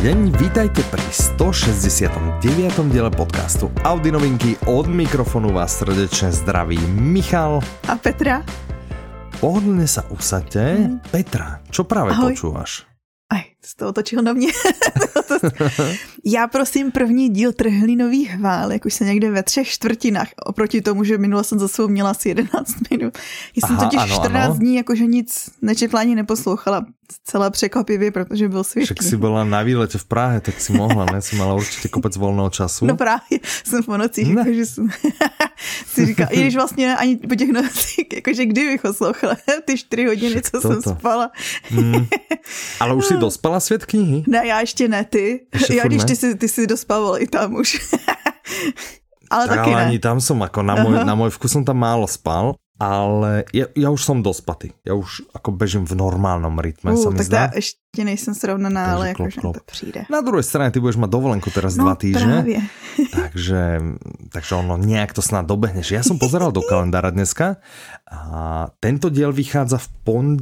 deň, vítajte pri 169. diele podcastu Audi novinky. Od mikrofónu vás srdečne zdraví Michal a Petra. Pohodlne sa usaďte. Petra, čo práve počúvaš? Aj, jsi to otočil na mě. Já prosím první díl Trhlinový hvál, jak už se někde ve 3/4, oproti tomu, že minule jsem za sebou měla asi 11 minut. Já jsem totiž 14 dní jakože nic nečetla ani neposlouchala. Celá překvapivě, protože byl světlý. Však si byla na výlete v Prahe, tak si mohla, ne? Si mala určitě kopec volného času. No právě, jsem po nocích, jakože jsem si říkala, i když vlastně ani po těch nocích, jakože kdy bych poslouchala ty 4 hodiny, co jsem spala. Ale už si dospala svět knihy? Ne, já ještě ne, ty. Já když ty si dospával i tam už. Ale tak taky ale ne. ani tam som, ako na môj vkus som tam málo spal, ale ja už som dospatý. Ja už ako bežím v normálnom rytme, sa mi tak zdá. Tak ještě nejsem srovnaná, ale jakože to přijde. Na druhej strane ty budeš mať dovolenku teraz 2 týždne. Právě. Takže ono nejak to snad dobehneš. Ja som pozeral do kalendára dneska a tento diel vychádza v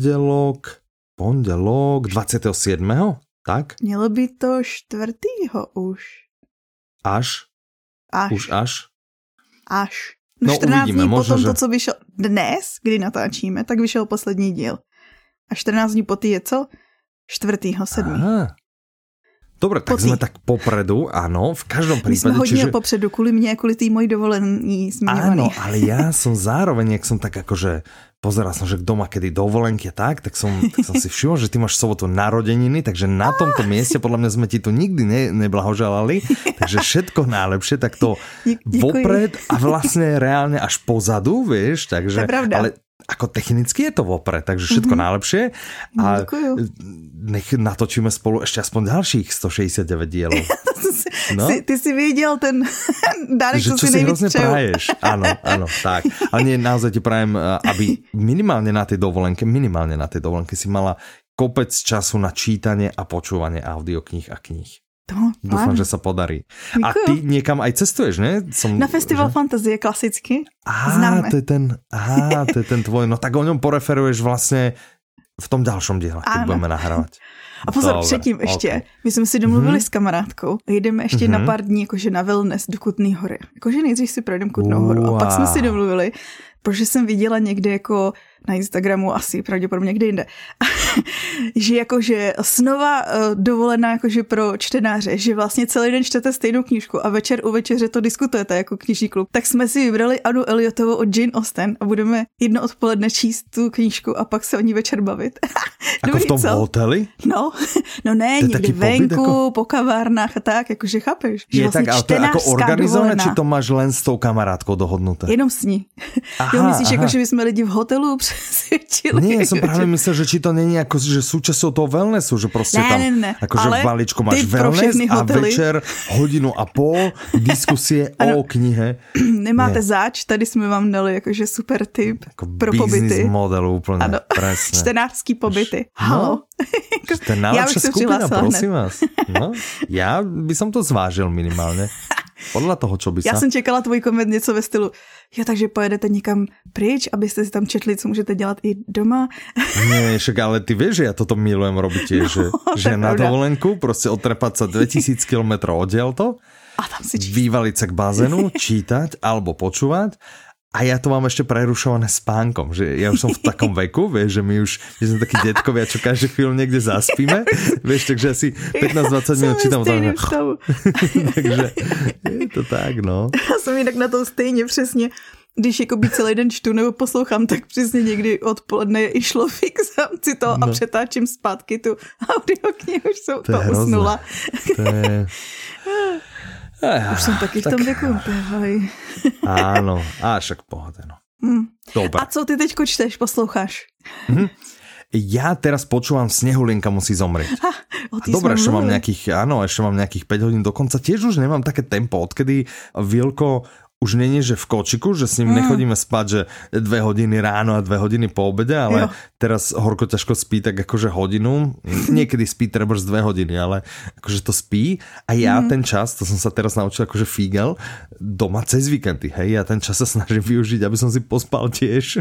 pondelok 27. Tak? Mělo by to 4. už. Až? Už až? Až. No 14 uvidíme, dní možno, potom že... to, co vyšel dnes, kdy natáčíme, tak vyšel poslední díl. A 14 dní po je co? 4.7. Aha. Dobre, tak sme tak popredu, áno, v každom prípade. My sme hodně popředu, kvůli mně, kvůli tý mojí dovolení zmiňovaný. Áno, ale ja som zároveň, jak som tak akože pozeral som, že doma kedy dovolenky a tak som si všimol, že ty máš sobotu narodeniny, takže na tomto mieste podľa mňa sme ti tu nikdy neblahoželali, takže všetko najlepšie, tak to vopred a vlastne reálne až pozadu, vieš, takže, ale ako technicky je to vopred, takže všetko najlepšie a nech natočíme spolu ešte aspoň ďalších 169 dielov. No? Ty si viděl ten dárek, co si nejvíc přeju. Praješ. Áno, tak. Ale nie, naozaj ti prajem, aby minimálne na tej dovolenke si mala kopec času na čítanie a počúvanie audiokníh a kníh. Dúfam, že sa podarí. Děkuju. A ty niekam aj cestuješ, ne? Na Festival Fantazie klasicky. Známe. To je ten tvoj, no tak o ňom poreferuješ vlastne v tom ďalšom diele, keď budeme nahrávať. A pozor, předtím ještě, my jsme si domluvili s kamarádkou, jdeme ještě na pár dní jakože na wellness do Kutný Hory. Jakože nejdřív si projdeme Kutnou horu a pak jsme si domluvili, protože jsem viděla někde jako na Instagramu, asi pravděpodobně někde jinde, že jakože snova dovolená jakože pro čtenáře, že vlastně celý den čtete stejnou knížku a večer u večeře to diskutujete jako knižní klub, tak jsme si vybrali Annu Elliotovou od Jane Austen a budeme jedno odpoledne číst tu knížku a pak se o ní večer bavit. Ako v tom hoteli? No ne, někdy venku, po kavárnách a tak, jakože chápeš. Je tak, ale to je ako organizované, či to máš len s tou kamarádkou dohodnuté? Jenom s ní. Jo, myslíš, jako, že by sme lidi v hotelu přesvědčili? Nie, som práve myslel, že či to není ako, že súčasťou toho wellnessu, že proste tam akože v balíčku máš wellness a večer 1.5 hodiny diskusie o knihe. Nemáte záč, tady jsme vám dali jakože super tip jako pro pobyty. Business model úplne, ano. Presne. Čtenářský pobyty. Halo. To je najlepšia skupina, prosím vás. No, ja by som to zvážil minimálne. Podľa toho, čo by sa... Já jsem čekala tvůj koment něco ve stylu, jo, takže pojedete někam pryč, abyste si tam četli, co můžete dělat i doma. Nie, však ale ty vieš, že ja toto milujem robiť tiež, že na dovolenku proste otrepať sa 2000 km oddiaľto, a tam si vyvaliť sa k bazénu, čítať alebo počúvať. A ja to mám ešte prerušované spánkom, že ja už som v takom veku, vieš, že my už sme takí detkovia, čo každú chvíľu niekde zaspíme, vieš, takže asi 15-20 minút čítam. Takže je to tak, no. Já jsem jinak na to stejně přesně, když jakoby celý den čtu nebo poslouchám, tak přesně někdy odpoledne je i šlo fixám si to a přetáčím zpátky tu audioknihu, už jsem to usnula. Už som taky v tom veku. Áno, však pohoda, no. Dobre. A co ty teďko čteš, posloucháš? Ja teraz počúvam Snehulienka musí zomrieť. Dobre, ešte mám nejakých 5 hodín dokonca. Tiež už nemám také tempo, odkedy Vilko už nie, že v kočiku, že s ním nechodíme spať, že 2 hodiny ráno a 2 hodiny po obede, ale teraz horko ťažko spí tak akože hodinu. Niekedy spí treba z 2 hodiny, ale akože to spí. A ja ten čas, to som sa teraz naučil akože fígel, doma cez víkendy, hej, ja ten čas sa snažím využiť, aby som si pospal tiež.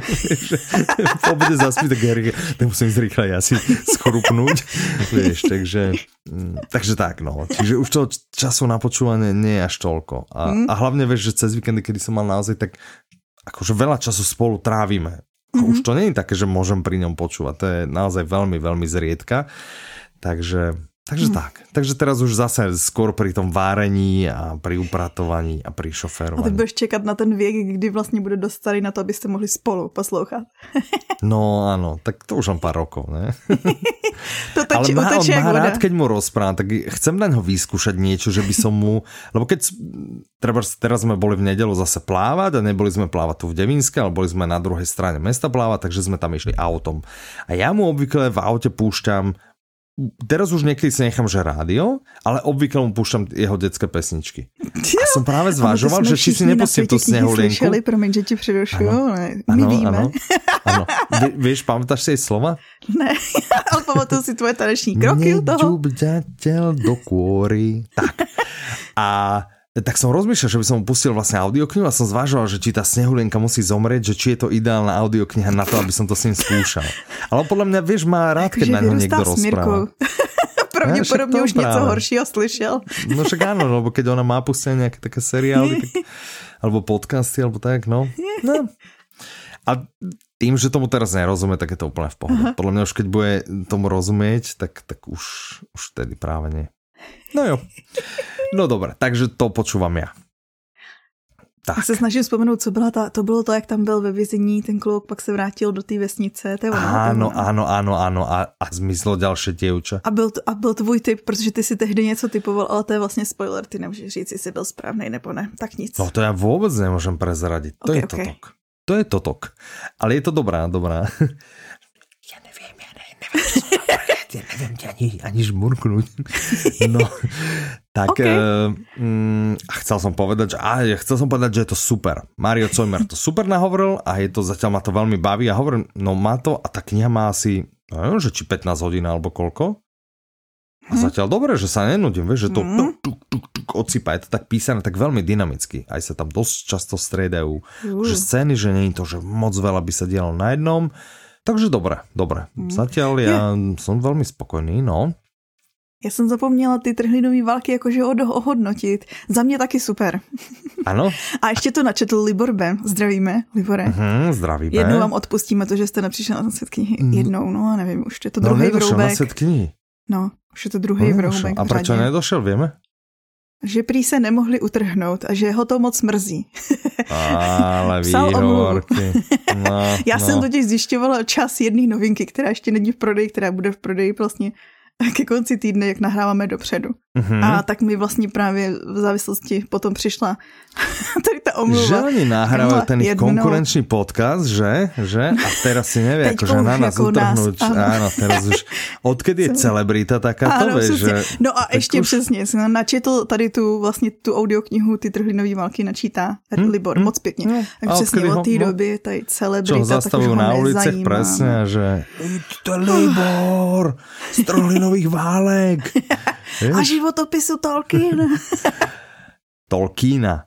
Po obede zaspí, tak musím ísť rýchle asi skorupnúť. Vieš, takže Takže tak, no. Čiže už toho času na počúvanie nie je až toľko. A hlavne vieš, že cez víkendy, kedy som mal naozaj, tak akože veľa času spolu trávime. Už to nie je také, že môžem pri ňom počúvať. To je naozaj veľmi, veľmi zriedka. Takže tak. Takže teraz už zase skôr pri tom várení a pri upratovaní a pri šoférovaní. A ty budeš čekat na ten věk, kdy vlastně bude dost starý na to, abyste mohli spolu poslouchat. No áno, tak to už mám pár rokov, ne? To ale on má rád, keď mu rozprávam, tak chcem na ňo vyskúšať niečo, že by som mu... Lebo keď... Teraz sme boli v nedeľu zase plávať a neboli sme plávať tu v Devínske, ale boli sme na druhej strane mesta plávať, takže sme tam išli autom. A ja mu obvykle v aute púšťam. Teraz už niekedy si nechám, že rádio, ale obvykle mu púšťam jeho detské pesničky. A som práve zvažoval, že či si nepustím tú Snehulienku. Promiň, že ti přerušuju, ale my víme. Áno. Vieš, pamätáš si jej slova? Ne, ale pamatuju si tvoje taneční kroky u toho. Nedžub ďateľ do kôry. Tak. A tak som rozmýšľal, že by som mu pustil vlastne audioknihu a som zvažoval, že či tá Snehulienka musí zomrieť, že či je to ideálna audiokniha na to, aby som to s ním skúšal. Ale podľa mňa, vieš, má rád, keď na ňo niekto rozpráva. Pravděpodobně už něco horšího slyšel. No však áno, lebo keď ona má pustené nejaké také seriály, alebo podcasty, alebo tak, no. A tým, že tomu teraz nerozumie, tak je to úplne v pohode. Podľa mňa už keď bude tomu rozumieť, tak už vtedy práve nie. No jo. No dobré, takže to počúvam ja. Tak. Já se snažím vzpomenout, co byla to bylo to, jak tam byl ve vězení, ten kluk pak se vrátil do té vesnice. To je ono, áno. A zmizlo ďalšie dievča. A byl tvůj tip, protože ty si tehdy něco typoval, ale to je vlastně spoiler, ty nemůžeš říct, jestli byl správnej nebo ne. Tak nic. No to ja vôbec nemôžem prezradiť. To je totok. To je totok. Ale je to dobrá. Ja neviem, ja neviem ti ani žmurknúť. No, tak chcel som povedať, že je to super. Mario Cojmer to super nahovoril a je to, zatiaľ ma to veľmi baví a hovorím, no má to a tá kniha má asi, neviem, že či 15 hodín alebo koľko. A zatiaľ dobre, že sa nenudím, vieš, že to odsýpa, je to tak písané, tak veľmi dynamicky. Aj sa tam dosť často striedajú, že scény, že nie je to, že moc veľa by sa dialo na jednom. Takže dobre. Zatiaľ ja som veľmi spokojný, no. Já jsem zapomněla ty trhlinový války jakože ohodnotit. Za mě taky super. Ano. A ještě to načetl Libor B. Zdravíme, Libore. Zdravíme. Jednou vám odpustíme to, že jste nepřišel na svět knihy. Jednou, no a nevím, už je to druhý vroubek. Na svět knihy. No, už je to druhý vroubek. A proč nedošel, vieme? Že prý se nemohli utrhnout a že ho to moc mrzí. Ale výhovorky. Já jsem totiž zjišťovala čas jedné novinky, která ještě není v prodeji, která bude v prodeji vlastně ke konci týdne, jak nahráváme dopředu. A tak mi vlastně právě v závislosti potom přišla tady ta omluva. Že oni nahrávajú ten ich konkurenčný podcast, že? A teraz si nevie, akože na nás utrhnúť. Áno, teraz už, odkedy je celebrita takáto, vieš, že... No a ještě už... přesně, načetl tady tu audioknihu, ty trhlinové války načítá Libor, moc pěkně. Tak přesně od té doby tady celebrita, čo zastavujú na ulicech presne, že to Libor z trhlinových válek. A životopisu Tolkiena.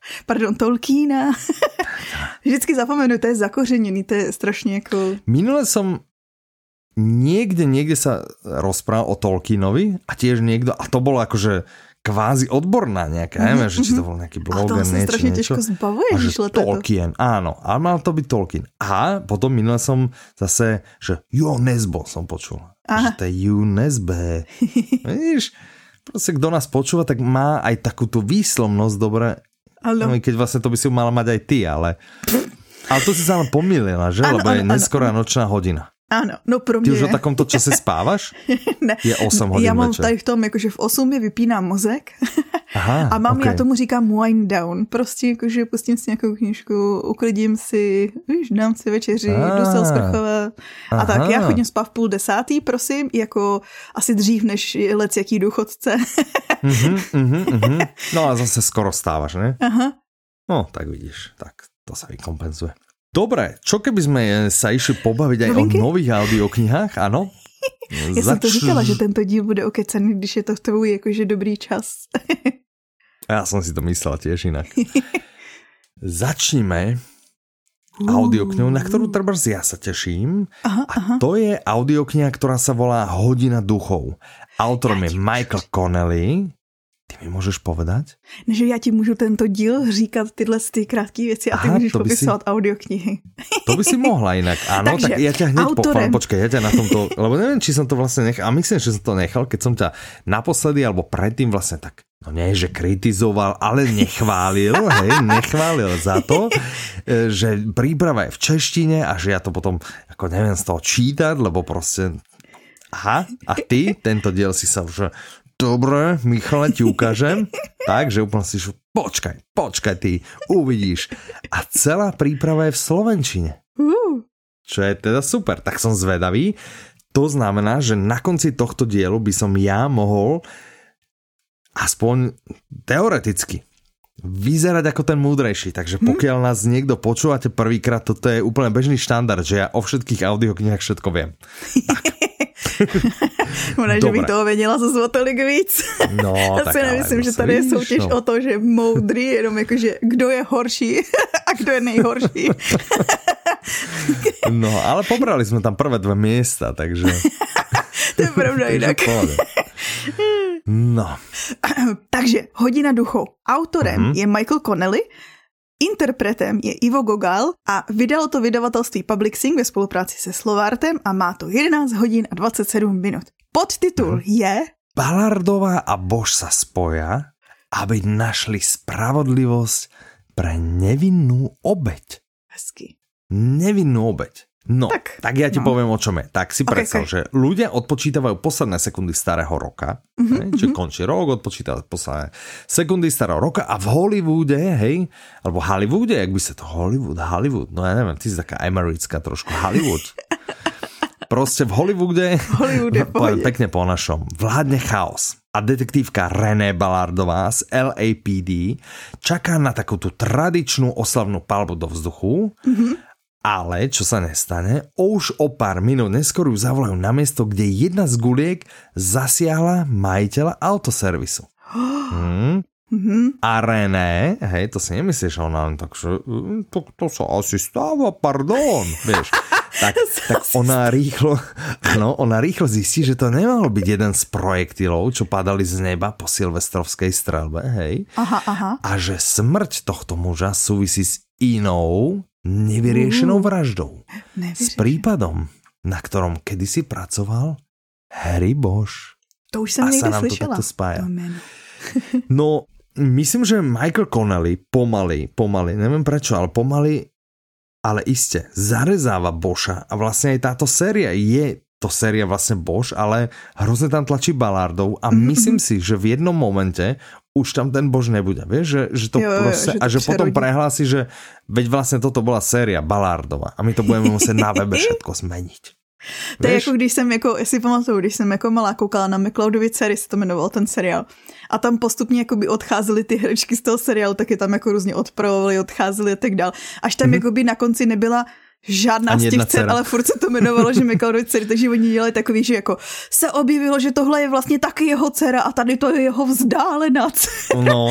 Vždycky zapomenu, to je zakořeněný, to je strašně jako... Minule som niekde sa rozprával o Tolkienovi a tiež niekto, a to bolo akože kvázi odborná nejaká, neviem, že či to bol nejaký bloger, niečo. A to sa strašne ťažko zbavuje, že Tolkien, áno, ale mal to byť Tolkien. A potom minule som zase, že Jo Nesbo som počul. Že to je Jo Nesbe. Vidíš? Proste, kto nás počúva, tak má aj takú tú výslovnosť, dobre. No, keď vlastne to by si mala mať aj ty, ale to si sa len pomýlila, že? Lebo je neskorá nočná hodina. Ano, no pro mě. Ty už o takomto čase spávaš? Ne. Je 8 hodin já mám večer. tady v tom, jakože v 8 mi vypínám mozek. Aha, a mám, já tomu říkám wind down. Prostě jakože pustím si nějakou knížku, uklidím si, víš, dám si večeři, jdu se osprchovat. A tak, já chodím spát v 9:30, prosím, jako asi dřív než jaký důchodce. No a zase skoro stávaš, ne? Aha. No, tak vidíš, tak to sa vykompenzuje. Dobre, čo keby sme sa išli pobaviť aj o nových audioknihách, áno? Já jsem to říkala, že tento díl bude okecený, když je to tvůj jakože dobrý čas. Ja som si to myslel tiež inak. Začnime audioknihu, na ktorú trebárs ja sa teším. A to je audiokniha, ktorá sa volá Hodina duchov. Autorom je Michael Connelly. Ty mi můžeš povedať? Že já ti můžu tento díl říkat tyhle krátké věci a ty můžeš popisovat audioknihy. To by si mohla inak. Áno, tak ja ťa hneď pochválim. Počkaj, ja ťa na tomto, lebo neviem, či som to vlastne nechal, a myslím, že som to nechal, keď som ťa naposledy alebo predtým vlastne tak, no nie, že kritizoval, ale nechválil, nechválil za to, že príprava je v češtine a že ja to potom, ako neviem z toho čítať, lebo proste, a ty, tento diel si sa už... Dobre, Michale, ti ukážem. Takže úplne si počkaj ty, uvidíš. A celá príprava je v slovenčine. Čo je teda super, tak som zvedavý. To znamená, že na konci tohto dielu by som ja mohol aspoň teoreticky vyzerať ako ten múdrejší. Takže pokiaľ nás niekto počúvate prvýkrát, toto je úplne bežný štandard, že ja o všetkých audioknihách všetko viem. Tak. Možná, že bych toho věděla zase o tolik víc. No, já si nemyslím, že tady je soutěž o to, že moudrý, jenom jakože kdo je horší a kdo je nejhorší. No, ale pobrali jsme tam prvé 2 miesta, takže... To je pravda jinak. No. Takže Hodina duchov. Autorem je Michael Connelly, interpretem je Ivo Gogál a vydalo to vydavatelství Publixing ve spolupráci se Slovartem a má to 11 hodín a 27 minut. Podtitul je Ballardová a Bož sa spoja, aby našli spravodlivosť pre nevinnú obeť. Hezky. Nevinnú obeť. No, tak ja ti poviem, o čom je. Tak si predstav, že ľudia odpočítavajú posledné sekundy starého roka, čiže končí rok, odpočítavajú posledné sekundy starého roka a v Hollywoode, alebo Hollywoode, jak by sa to Hollywood, no ja neviem, ty si taká americká trošku, Hollywood. Proste v Hollywoode pekne po našom, vládne chaos. A detektívka René Ballardová z LAPD čaká na takú tú tradičnú oslavnú palbu do vzduchu. Ale, čo sa nestane, už o pár minút neskôr ju zavolajú na miesto, kde jedna z guliek zasiahla majiteľa autoservisu. A René, to si nemyslíš, ona len tak, že to sa asi stáva, pardon, vieš. Tak ona rýchlo zistí, že to nemalo byť jeden z projektilov, čo padali z neba po silvestrovskej strelbe, Aha. A že smrť tohto muža súvisí s inou nevyriešenou vraždou. S prípadom, na ktorom kedysi pracoval Harry Bosch. To už som niekde slyšela. A sa nám to takto spája. No, myslím, že Michael Connelly pomaly, neviem prečo, ale pomaly, ale iste, zarezáva Boscha a vlastne aj táto séria je to séria vlastne Bosch, ale hrozne tam tlačí Ballardov a myslím si, že v jednom momente už tam ten Bosch nebude, vieš, že to proste, a že potom prehlási, že veď vlastne toto bola séria Ballardova a my to budeme musieť na webe všetko zmeniť. To je jako když jsem, si pamatuju, když jsem jako malá koukala na McCloudovy dcery, se to jmenoval ten seriál. A tam postupně jakoby odcházely ty herečky z toho seriálu, tak je tam jako různě odpravovali, odcházely a tak dál. Až tam jakoby na konci nebyla žádná z těch dcer, ale furt se to jmenovalo, že McCloudovy dcery, takže oni dělali takový, že jako se objevilo, že tohle je vlastně taky jeho dcera a tady to je jeho vzdálená dcera. No.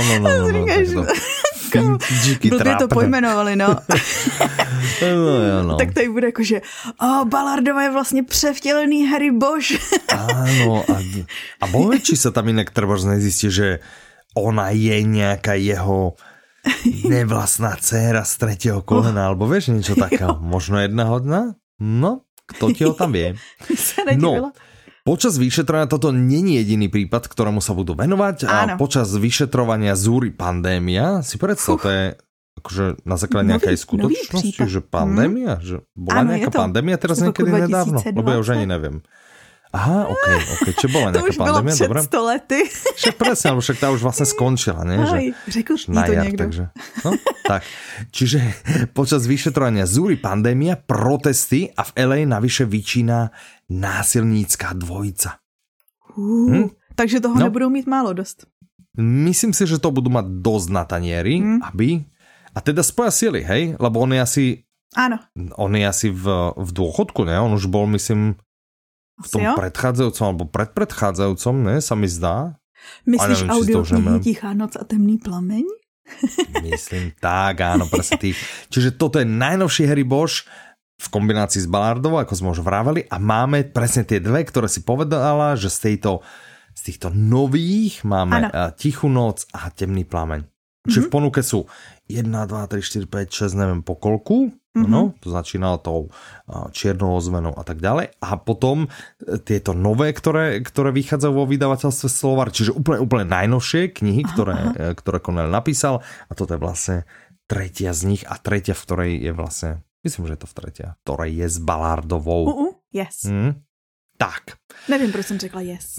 Blbě to pojmenovali, no. No. Tak tady bude jako, že Ballardová je vlastně převtělený Harry Bosch. Áno, a bohe, či sa tam inak trebárs nezistí, že ona je nejaká jeho nevlastná dcéra z 3. kolena, alebo vieš niečo takého. Možno jedna hodná? No, kto ti ho tam vie. No, počas vyšetrovania toto není jediný prípad, ktorému sa budú venovať. A počas vyšetrovania zúri pandémia, si predstav, to je akože na základe nejakej skutočnosti, že pandémia, že bola nejaká pandémia teraz niekedy nedávno, lebo ja už ani neviem. Aha, ok, čo bola nejaká pandémia, dobre? To už bylo před 100 lety. Však presne, alebo však tá už vlastne skončila, nie? Řekl ti to niekto. Takže, no, tak. Čiže počas vyšetrovania zúri pandémia, protesty a v LA navyše vyčína násilnícka dvojica. Takže toho nebudou mít málo dost. Myslím si, že to budú mať dosť na tanieri, aby... A teda spoja sily, hej? Lebo on je asi... Áno. On je asi v dôchodku, ne? On už bol, myslím... V tom predchádzajúcom, alebo predpredchádzajúcom, ne, sa mi zdá. Myslíš audioknihy Tichá noc a temný plameň? Myslím tak, áno, presne tých. Čiže toto je najnovší Harry Bosch v kombinácii s Ballardovou, ako sme už vraveli, a máme presne tie dve, ktoré si povedala, že z týchto nových máme Tichú noc a Temný plameň. Čiže v ponuke sú 1, 2, 3, 4, 5, 6, neviem po koľku, no, to začínalo tou Čiernou ozvenou a tak ďalej. A potom tieto nové, ktoré vychádzajú vo vydavateľstve Slovar, čiže úplne najnovšie knihy, ktoré Connelly napísal. A toto je vlastne tretia z nich a tretia, v ktorej je vlastne, myslím, že je to v tretia, ktorej je s Ballardovou. Yes. Tak. Nevím, proč jsem řekla yes.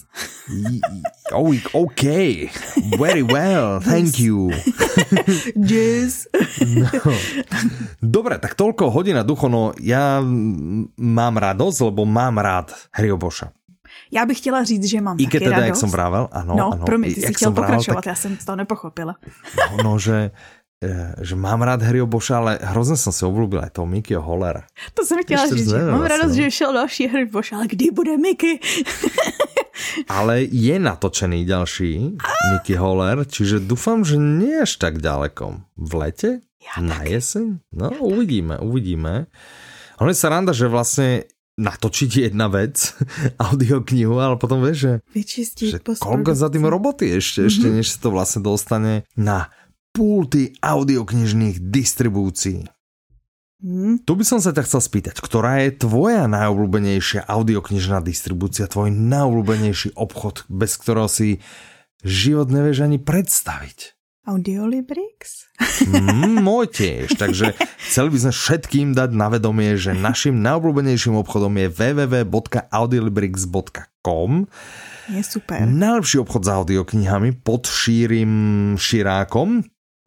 OK. Very well. Thank you. Yes. No. Dobre, tak toľko Hodina duchov. No, ja mám radosť, lebo mám rád Harryho Boscha. Já bych chtěla říct, že mám taky teda, radost. jak som vravel, ano. Promiň, ty si chtěl pokračovat, tak... já jsem to nepochopila. No, že mám rád Harryho Boscha, ale hrozně jsem si obľúbil aj toho Mickeyho Hollera. To jsem chtěla říct, že mám radost, že šel další Harry Bosch, ale kdy bude Mickey? Ale je natočený ďalší Mickey Holler, čiže dúfam, že nie až tak ďaleko. V lete? Na jeseň? No, uvidíme. Ono je sranda, že vlastne natočiť jedna vec, audioknihu, ale potom vieš, že koľko za tým roboty ešte než sa to vlastne dostane na pulty audioknižných distribúcií. Tu by som sa ťa chcel spýtať, ktorá je tvoja najobľúbenejšia audioknižná distribúcia, tvoj najobľúbenejší obchod, bez ktorého si život nevieš ani predstaviť? Audiolibrix? Môj tiež, takže chceli by sme všetkým dať na vedomie, že našim najobľúbenejším obchodom je www.audiolibrix.com. Je super. Najlepší obchod s audioknihami pod šírým širákom.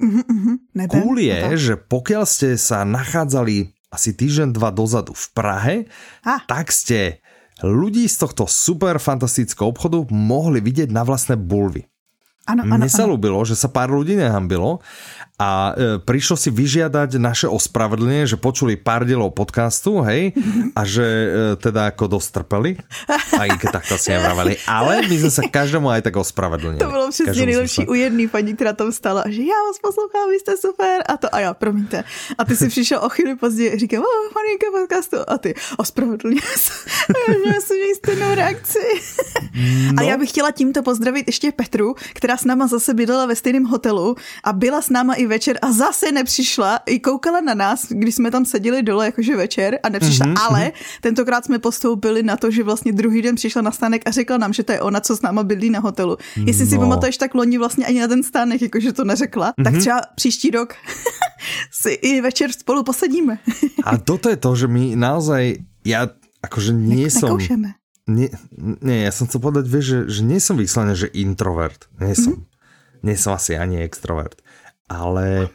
Cool je, že pokiaľ ste sa nachádzali asi týždeň, 2 dozadu v Prahe, tak ste ľudí z tohto super fantastického obchodu mohli vidieť na vlastné bulvy. Mne sa ľúbilo, že sa pár ľudí nehambilo a prišlo si vyžiadať naše ospravedlnenie, že počuli pár dielov podcastu, hej, a že teda ako dostrpeli, aj keď takto si nevraveli, ale my sme sa každému aj tak ospravedlnili. To bylo přesně nejlepší u jedné paní, která tam stala, že já vás poslouchám, vy jste super, a já, promiňte. A ty si přišel o chvíli později, říkám, paníka podcastu, a ty, ospravedlně se, já jsem měl stejnou reakci. No. A já bych chtěla tímto pozdravit ještě Petru, která s náma zase bydlela ve stejném hotelu a byla s náma i večer a zase nepřišla, i koukala na nás, když jsme tam seděli dole jakože večer a nepřišla, ale tentokrát jsme postoupili na to, že vlastně druhý den přišla na stánek a řekla nám, že to je ona, co s náma bydlí na hotelu. Jestli si pamatuješ, tak loni vlastně ani na ten stánek jakože to neřekla, tak třeba příští rok si i večer spolu posedíme. A toto je to, že my naozaj, ja akože nie som... Nie, ja som chcel povedať, vieš, že nie som vyslovene, že introvert. Nie som asi ani extrovert. Ale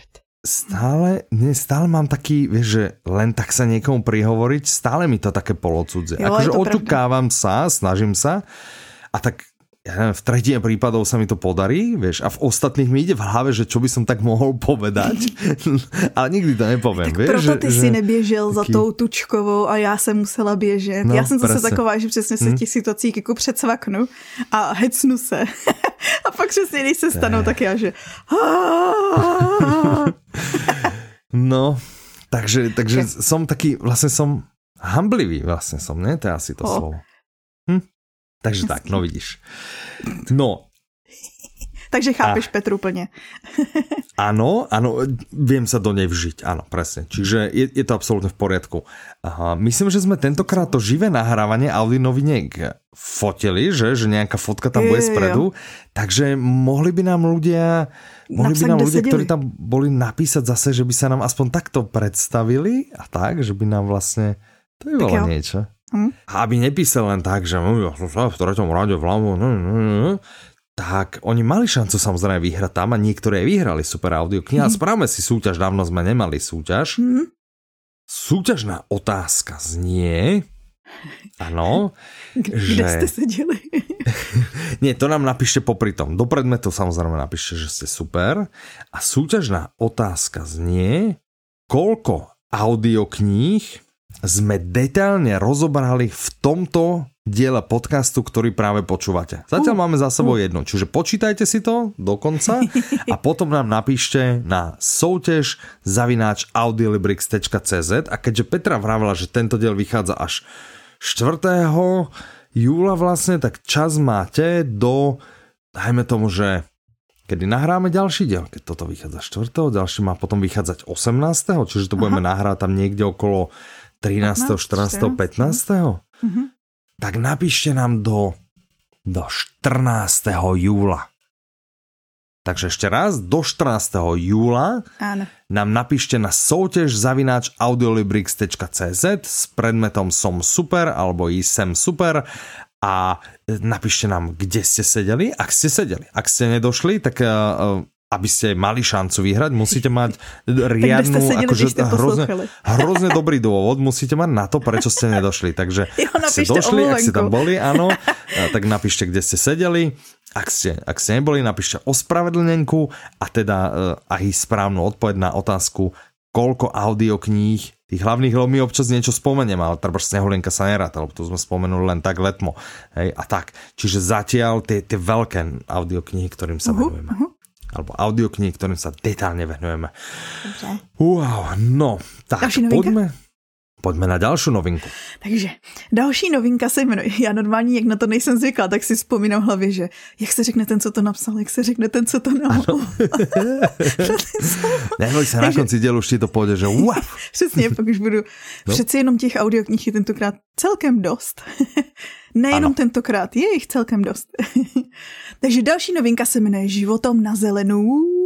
stále mám taký, vieš, že len tak sa niekomu prihovoriť, stále mi to také polocudzie. Akože oťukávam sa, snažím sa a tak ja neviem, v tretine prípadov sa mi to podarí, vieš, a v ostatných mi ide v hlave, že čo by som tak mohol povedať, ale nikdy to nepoviem. Tak vieš, proto ty si neběžel za tou tučkovou a já jsem musela běžet. No, já jsem zase taková, že přesně se těch situacích jako předsvaknu a hecnu se. A pak přesně, když se stanou, tak já, že... No, takže som taký, vlastne som hamblivý, vlastne som, ne? To je asi to slovo. Takže tak, no vidíš. No. Takže chápeš Petru plne. Áno, viem sa do nej vžiť, áno, presne. Čiže je to absolútne v poriadku. Myslím, že sme tentokrát to živé nahrávanie Audi noviniek fotili, že nejaká fotka tam bude spredu, takže mohli by nám ľudia, ktorí tam boli, napísať zase, že by sa nám aspoň takto predstavili a tak, že by nám vlastne, to by bolo niečo. A aby nepísali len tak, že ja som sa v 3. rade vľavo, tak oni mali šancu samozrejme vyhrať tam a niektoré vyhrali super audioknihy. A správame si súťaž, dávno sme nemali súťaž. Súťažná otázka znie, áno, kde ste sedeli? Nie, to nám napíšte popri tom. Do predmetu samozrejme napíšte, že ste super. A súťažná otázka znie, koľko audiokníh sme detailne rozobrali v tomto diele podcastu, ktorý práve počúvate. Zatiaľ máme za sebou jedno, čiže počítajte si to do konca a potom nám napíšte na soutež@audiolibrix.cz a keďže Petra vravila, že tento diel vychádza až 4. júla vlastne, tak čas máte do, dajme tomu, že kedy nahráme ďalší diel, keď toto vychádza 4. ďalší má potom vychádzať 18. čiže to budeme nahrať tam niekde okolo 13., 14., 15. Tak napíšte nám do 14. júla. Takže ešte raz, do 14. júla nám napíšte na soutež@audiolibrix.cz s predmetom Som super alebo Sem super a napíšte nám, kde ste sedeli, ak ste sedeli. Ak ste nedošli, tak aby ste mali šancu vyhrať, musíte mať riadnu, akože hrozne dobrý dôvod, musíte mať na to, prečo ste nedošli. Takže ak ste došli, ak ste tam boli, áno, tak napíšte, kde ste sedeli. Ak ste neboli, napíšte ospravedlnenku a teda aj správnu odpoveď na otázku, koľko audiokníh, tých hlavných, lebo my občas niečo spomeniem, ale treba Snehulienka sa neráta, lebo tu sme spomenuli len tak letmo. Hej, a tak. Čiže zatiaľ tie veľké audioknihy, ktorým sa venujeme. Alebo audioknihy, ktorým sa detálne venujeme. Dobře. Wow, no, tak poďme na ďalšiu novinku. Takže další novinka se jmenuje, já normálně, jak na to nejsem zvyklá, tak si vzpomínám v hlavě, že jak se řekne ten, co to napsal, jak se řekne ten, co to napsal. Neboj se, na konci dielu už ti to pôjde, že wow. Přesně, pak už budu. No. Přeci jenom těch audioknih je tentokrát celkem dost. Nejenom tentokrát, je jich celkem dost. Takže další novinka se jmenuje Životom na zelenou.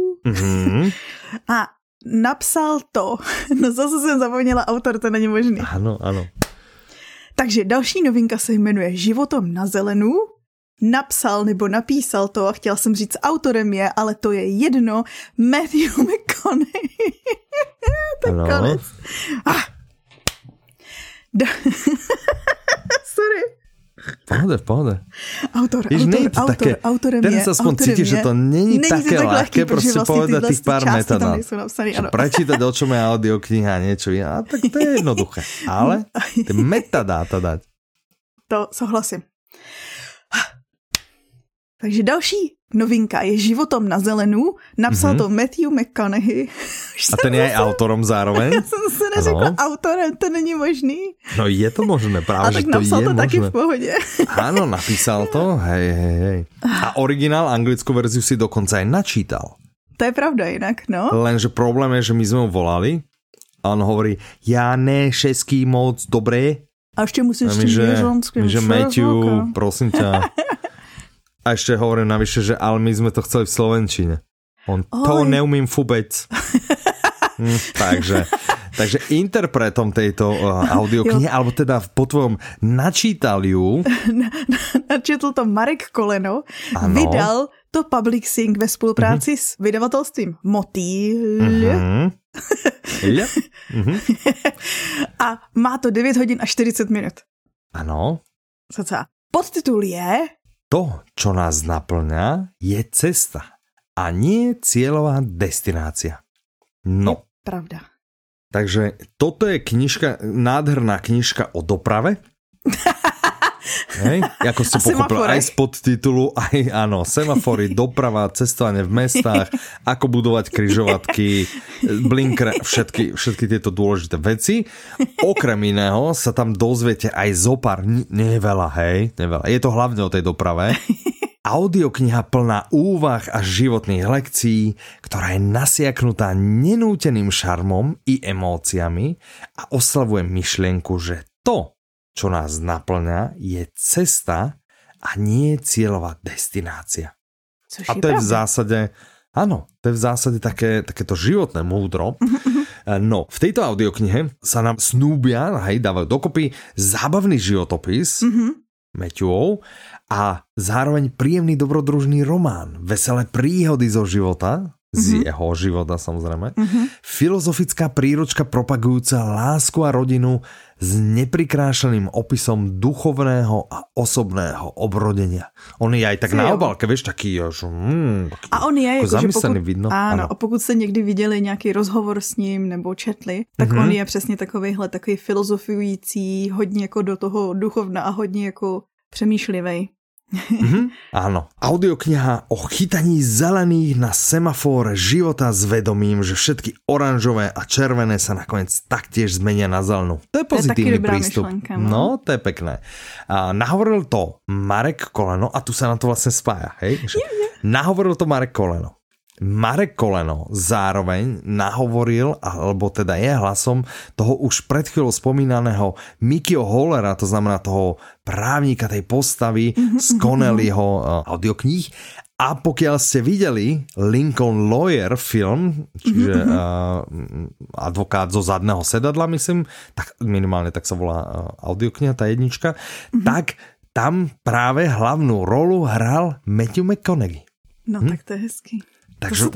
A napsal to. No zase jsem zapomněla autor, to není možný. Ano. Takže další novinka se jmenuje Životom na zelenu. Napsal nebo napísal to, a chtěla jsem říct autorem je, ale to je jedno, Matthew McConaughey. Tak konec. Sorry. V pohode. Autorem teraz je. Aspoň cítiš, že to není také ľahké proste povedať tých pár metadát. Prečítať, o čom je audiokniha a niečo iné. Tak to je jednoduché. Ale tie metadáta dať. To souhlasím. Takže další novinka je Životom na zelenu. Napsal to Matthew McConaughey. A ten je aj autorom zároveň? Já jsem se neřekla autorem, to není možný. No je to možné, práve, že to je možné. A tak napsal to taky v pohodě. Áno, napísal to, hej. A originál, anglickú verziu si dokonca aj načítal. To je pravda inak, no. Lenže problém je, že my sme ho volali a on hovorí, ja ne šeský moc dobré. A ešte musíš s tým ježonským. Že Matthew, prosím ťa. A ešte hovorím navyše, že ale my sme to chceli v slovenčine. On to neumím vôbec. Takže interpretom tejto audioknihy, alebo teda po tvojom načítal ju. Načetl to Marek Koleno. Ano. Vydal to publishing ve spolupráci s vydavatelstvím Motýl. A má to 9 hodin a 40 minut. Ano. Podtitul je To, čo nás naplňa, je cesta a nie cieľová destinácia. No. Pravda. Takže toto je knižka, nádherná knižka o doprave. Hej? Ako ste pochopili, aj z podtitulu, aj áno, semafory, doprava, cestovanie v mestách, ako budovať križovatky, blinker, všetky tieto dôležité veci. Okrem iného sa tam dozviete aj zopár, neveľa, neveľa. Je to hlavne o tej doprave. Audiokniha plná úvah a životných lekcií, ktorá je nasiaknutá nenúteným šarmom i emóciami a oslavuje myšlienku, že to, čo nás naplňa, je cesta a nie cieľová destinácia. A to je v zásade, áno, to je v zásade takéto životné múdro. No, v tejto audioknihe sa nám snúbia, dávajú dokopy zábavný životopis Matthewov a zároveň príjemný dobrodružný román, veselé príhody zo života z jeho života samozrejme. Filozofická príručka propagujúca lásku a rodinu s neprikrášeným opisom duchovného a osobného obrodenia. On je aj tak na obálke, vieš, taký a on je jako, zamyslený, vidno. Ano, a pokud jste někdy viděli nějaký rozhovor s ním nebo četli, tak on je přesně takový filozofující, hodně jako do toho duchovna a hodně jako přemýšlivej. Áno. Audiokniha o chytaní zelených na semafóre života s vedomím, že všetky oranžové a červené sa nakoniec taktiež zmenia na zelenú. To je pozitívny prístup. Myšlenka, no, to je pekné. A nahovoril to Marek Koleno a tu sa na to vlastne spája, hej? Nahovoril to Marek Koleno. Marek Koleno zároveň nahovoril, alebo teda je hlasom toho už pred chvíľou spomínaného Mickeyho Hollera, to znamená toho právnika, tej postavy z Connellyho audiokníh. A pokiaľ ste videli Lincoln Lawyer film, čiže advokát zo zadného sedadla, myslím, tak minimálne tak sa volá audiokniha, tá jednička, tak tam práve hlavnú rolu hral Matthew McConaughey. No tak to je hezký. Takže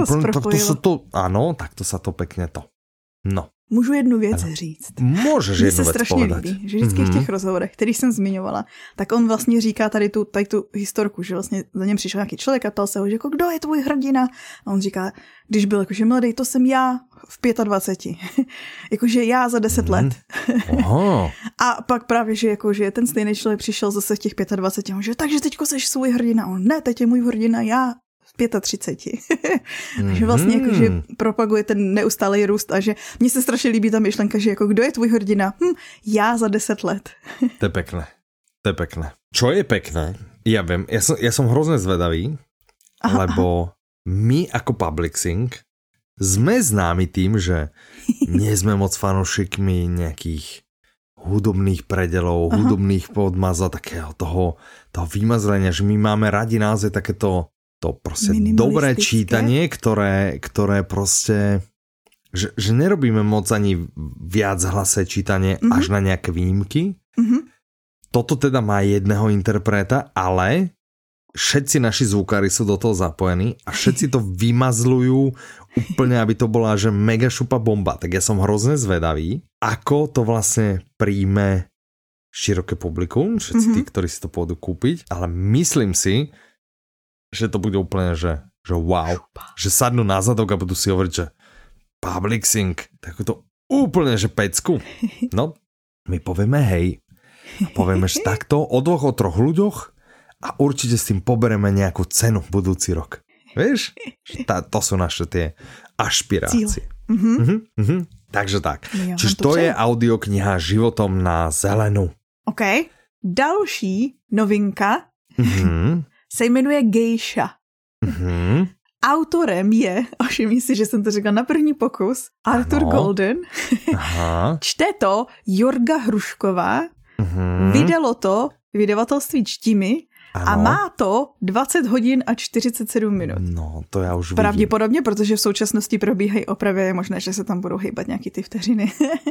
áno, takto sa to pekne to. No. Můžu jednu věc říct. Můžeš jednu věc strašně povedať. Líbí, že vždycky v těch rozhovorech, který jsem zmiňovala, tak on vlastně říká tady tu historku, že vlastně za něm přišel nějaký člověk a ptal se ho, že jako, kdo je tvůj hrdina? A on říká, když byl jakože mladý, to jsem já v 25. Jakože já za 10 let. Aha. A pak právě, že jakože ten stejný člověk přišel zase v těch 25. A on, že takže teďko seš svůj hrdina. A on, ne, teď je můj hrdina, já 35. Takže vlastně jakože propaguje ten neustálý růst a že mně se strašně líbí ta myšlenka, že jako kdo je tvůj hrdina? Já za 10 let. To je pekné. To je pekné. Čo je pekné? Ja viem, ja som hrozne zvedavý, lebo my ako Publixing sme známi tým, že nie sme moc fanúšikmi nejakých hudobných predelov, hudobných podmazov, takého toho vymazlenia, že my máme radi naozaj takéto to proste dobré čítanie, ktoré proste, že nerobíme moc ani viac hlasé čítanie až na nejaké výnimky. Toto teda má jedného interpreta, ale všetci naši zvukári sú do toho zapojení a všetci to vymazľujú úplne, aby to bola že mega šupa bomba. Tak ja som hrozne zvedavý, ako to vlastne príjme široké publikum, všetci tí, ktorí si to pôjdu kúpiť, ale myslím si, že to bude úplne, že wow. Že sadnú na zadok a budú si hovoriť, že Publixing, tak to úplne, že pecku. No, my povieme hej. A povieme, že takto o 2 o 3 ľuďoch a určite s tým pobereme nejakú cenu budúci rok. Vieš? To sú naše tie ašpirácie. Takže tak. No, čiže to je audiokniha Životom na zelenú. OK. Další novinka se jmenuje Geisha. Autorem je, všimni si, že jsem to řekla na první pokus, Arthur Golden. Čte to Jorga Hrušková. Vydalo to vydavatelství Čtimi a má to 20 hodin a 47 minut. No, to já už vidím. Pravděpodobně, protože v současnosti probíhají opravy, je možné, že se tam budou hejbat nějaký ty vteřiny.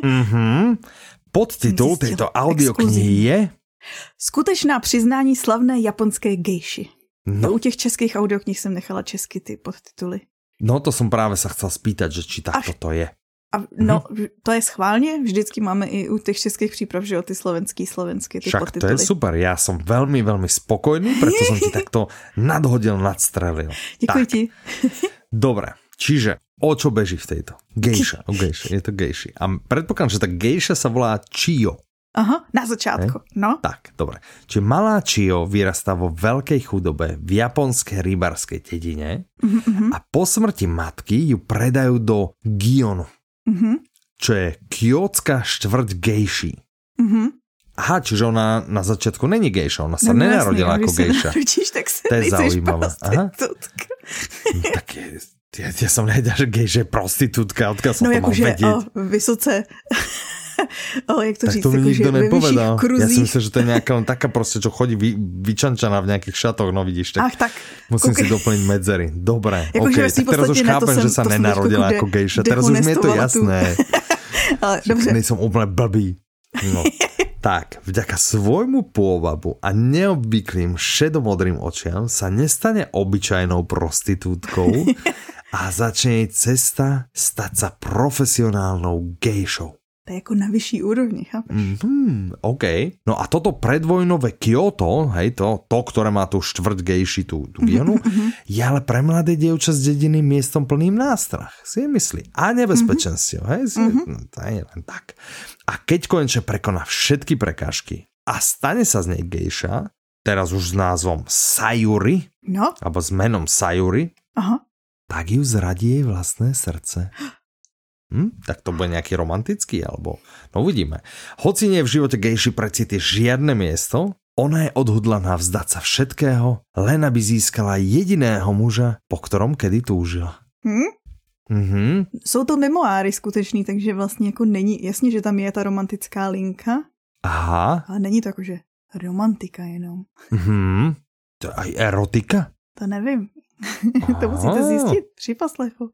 Podtitul této audioknihy je Skutečná přiznání slavné japonské gejši. No. U těch českých audioknih jsem nechala česky ty podtituly. No to jsem právě se chcel spýtať, že či takto to je. No, to je schválně, vždycky máme i u těch českých příprav, že o ty slovensky ty však podtituly. To je super, já jsem velmi, velmi spokojný, preto jsem ti takto nadhodil, nadstrelil. Děkuji ti. Dobre, čiže o čo beží v tejto? Geisha, je to gejši. A predpokladám, že ta gejša sa volá Chio. Aha, na začátku, no. Tak, dobre. Čiže malá Chio vyrastá vo veľkej chudobe v japonskej rybarskej dedine a po smrti matky ju predajú do Gionu, čo je kjótská štvrť gejší. Aha, čiže ona na začiatku není gejša, ona sa nenarodila ako gejša. To je zaujímavé. Tak ja som nevedel, že gejša je prostitútka, odkiaľ som to mal vedieť. Vysoce... jak to tak říct, to mi nikto nepovedal. Ja si myslím, že to je nejaká taká proste, čo chodí vyčančaná v nejakých šatoch, no vidíš, tak musím si doplniť medzery. Dobre, okej, tak teraz už chápem, že sa nenarodila ako gejša. Teraz už mi je to jasné. Že nejsem úplne blbý. No. Tak, vďaka svojmu pôvabu a neobvyklým šedomodrým očiam sa nestane obyčajnou prostitútkou, A začne jej cesta stať sa profesionálnou gejšou. To je jako na vyšší úrovni, chápeš? OK. No a toto predvojnové Kyoto, hej, to ktoré má tú štvrť gejši, tú Gionu, je ale pre mladé dievča z dediny miestom plným nástrah, si myslí. A nebezpečenstiev, hej, to je len tak. A keď konečne prekoná všetky prekážky a stane sa z nej gejša, teraz už s názvom Sayuri, alebo s menom Sayuri, tak ju zradí jej vlastné srdce. Tak to bude nejaký romantický, alebo no uvidíme. Hoci nie je v živote gejši precíti žiadne miesto, ona je odhodlaná vzdať sa všetkého, len aby získala jediného muža, po ktorom kedy túžila. Jsou to memoáry skutečný, takže vlastně jako není, jasně, že tam je ta romantická linka. Aha. Ale není to jakože romantika jenom. To je aj erotika? To nevím. To musíte zjistit při poslechu.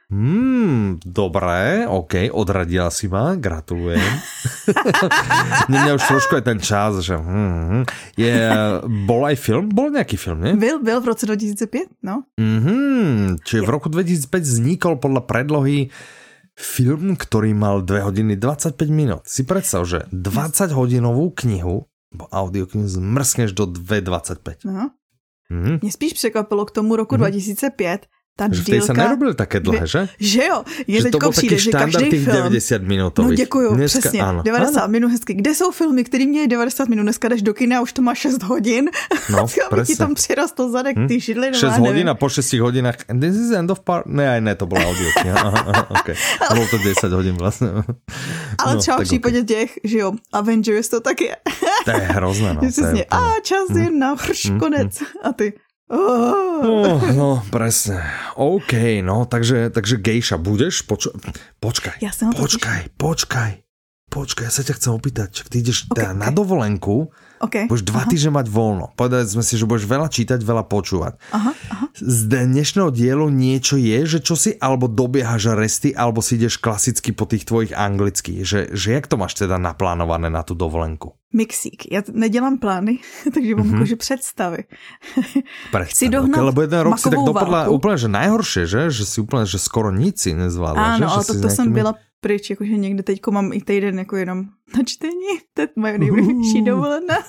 Dobré, OK, odradila si ma, gratulujem. Mňa už trošku je ten čas, že bol aj film? Bol nejaký film, nie? Byl v roce 2005, no. Čiže v roku 2005 vznikol podľa predlohy film, ktorý mal 2 hodiny 25 minút. Si predstav, že 20 hodinovú knihu, bo audioknihu zmrskneš do 2.25. No. Mě spíš překvapilo k tomu roku 2005, ta že vtedy sa nerobili také dlhé, že? Že jo, je teďko přijde, že každý film... 90 minutových. No děkuju, dneska, přesně, áno. 90 minut hezky. Kde jsou filmy, který měli 90 minut? Dneska jdeš do kina a už to má 6 hodin. No, aby ti tam přirostl zadek, ty židli. 6 hodín a po 6 hodinách this is end of part... Ne, to bylo audio. Okay. Bylo to 10 hodin vlastně. Ale no, třeba v případě těch, že jo, Avengers to tak je. To je hrozné, no. Přesně, čas je na konec. A ty... No, presne. OK, no, takže gejša budeš? Počkaj, ja sa ťa chcem opýtať. Ty ideš na dovolenku, budeš 2 týždne mať voľno. Povedali sme si, že budeš veľa čítať, veľa počúvať. Z dnešného dielu niečo je, že čo si, alebo dobiehaš resty, alebo si ideš klasicky po tých tvojich anglických. Že jak to máš teda naplánované na tú dovolenku? Mixík. Já nedělám plány, takže mám jakože představy. Chci dohnat lebo jeden rok si tak dopadla úplně, že najhoršie, že si úplně, že skoro nic si nezvládla. Áno, ale to jsem byla pryč, jakože někde teďko mám i týden jako jenom na čtení. To je moje nejbližší dovolená.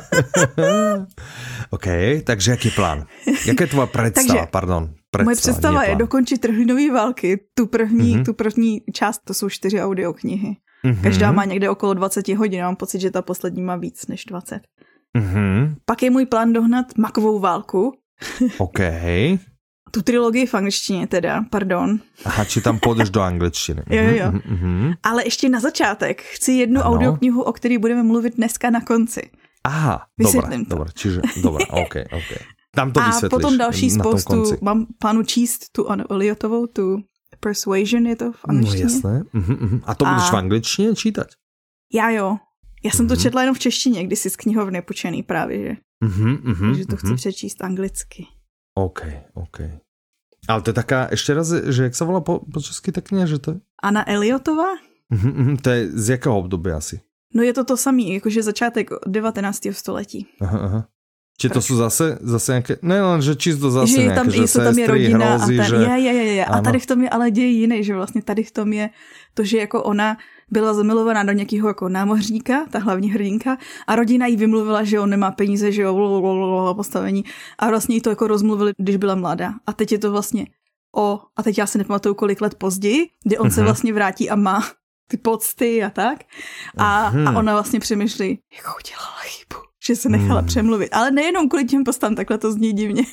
OK, takže jaký plán? Jaká je tvoja predstava? Moje představa je dokončit Trhlinový války. Tu první část, to jsou 4 audioknihy. Každá má někde okolo 20 hodin, já mám pocit, že ta poslední má víc než 20. Pak je můj plán dohnat Makovou válku. OK. Tu trilogii v angličtině teda, pardon. Aha, či tam půjdeš do angličtiny. Jo. Ale ještě na začátek chci jednu audioknihu, o který budeme mluvit dneska na konci. Aha, dobré, čiže, dobré, OK. Tam to vysvětlíš. A potom další spoustu, mám plánu číst tu Eliotovou, tu Persuasion je to v angličtině. No jasné. A to budeš v angličtině čítat? Já jsem to četla jenom v češtině, když jsi z knihovny půjčený právě, že? Takže to chci přečíst anglicky. OK. Ale to je taká, ještě raz, že jak se volá po česky ta kniha, že to je? Anna Eliotová? To je z jakého období asi? No je to samý, jakože začátek 19. století. Aha. Či to jsou zase nějaké, ne, že čisto zase že nějaké, že sestry, hrozí, že... Je. A tady v tom je ale děj jiný, že vlastně tady v tom je to, že jako ona byla zamilovaná do nějakého jako námořníka, ta hlavní hrdinka, a rodina jí vymluvila, že on nemá peníze, že jo, postavení, a vlastně jí to jako rozmluvili, když byla mladá. A teď je to vlastně a teď já si nepamatuju, kolik let později, kdy on se vlastně vrátí a má ty pocty a tak. A ona vlastně přemýšlí, jako udělala chybu, že se nechala přemluvit. Ale nejenom kvůli těm postám, takhle to zní divně.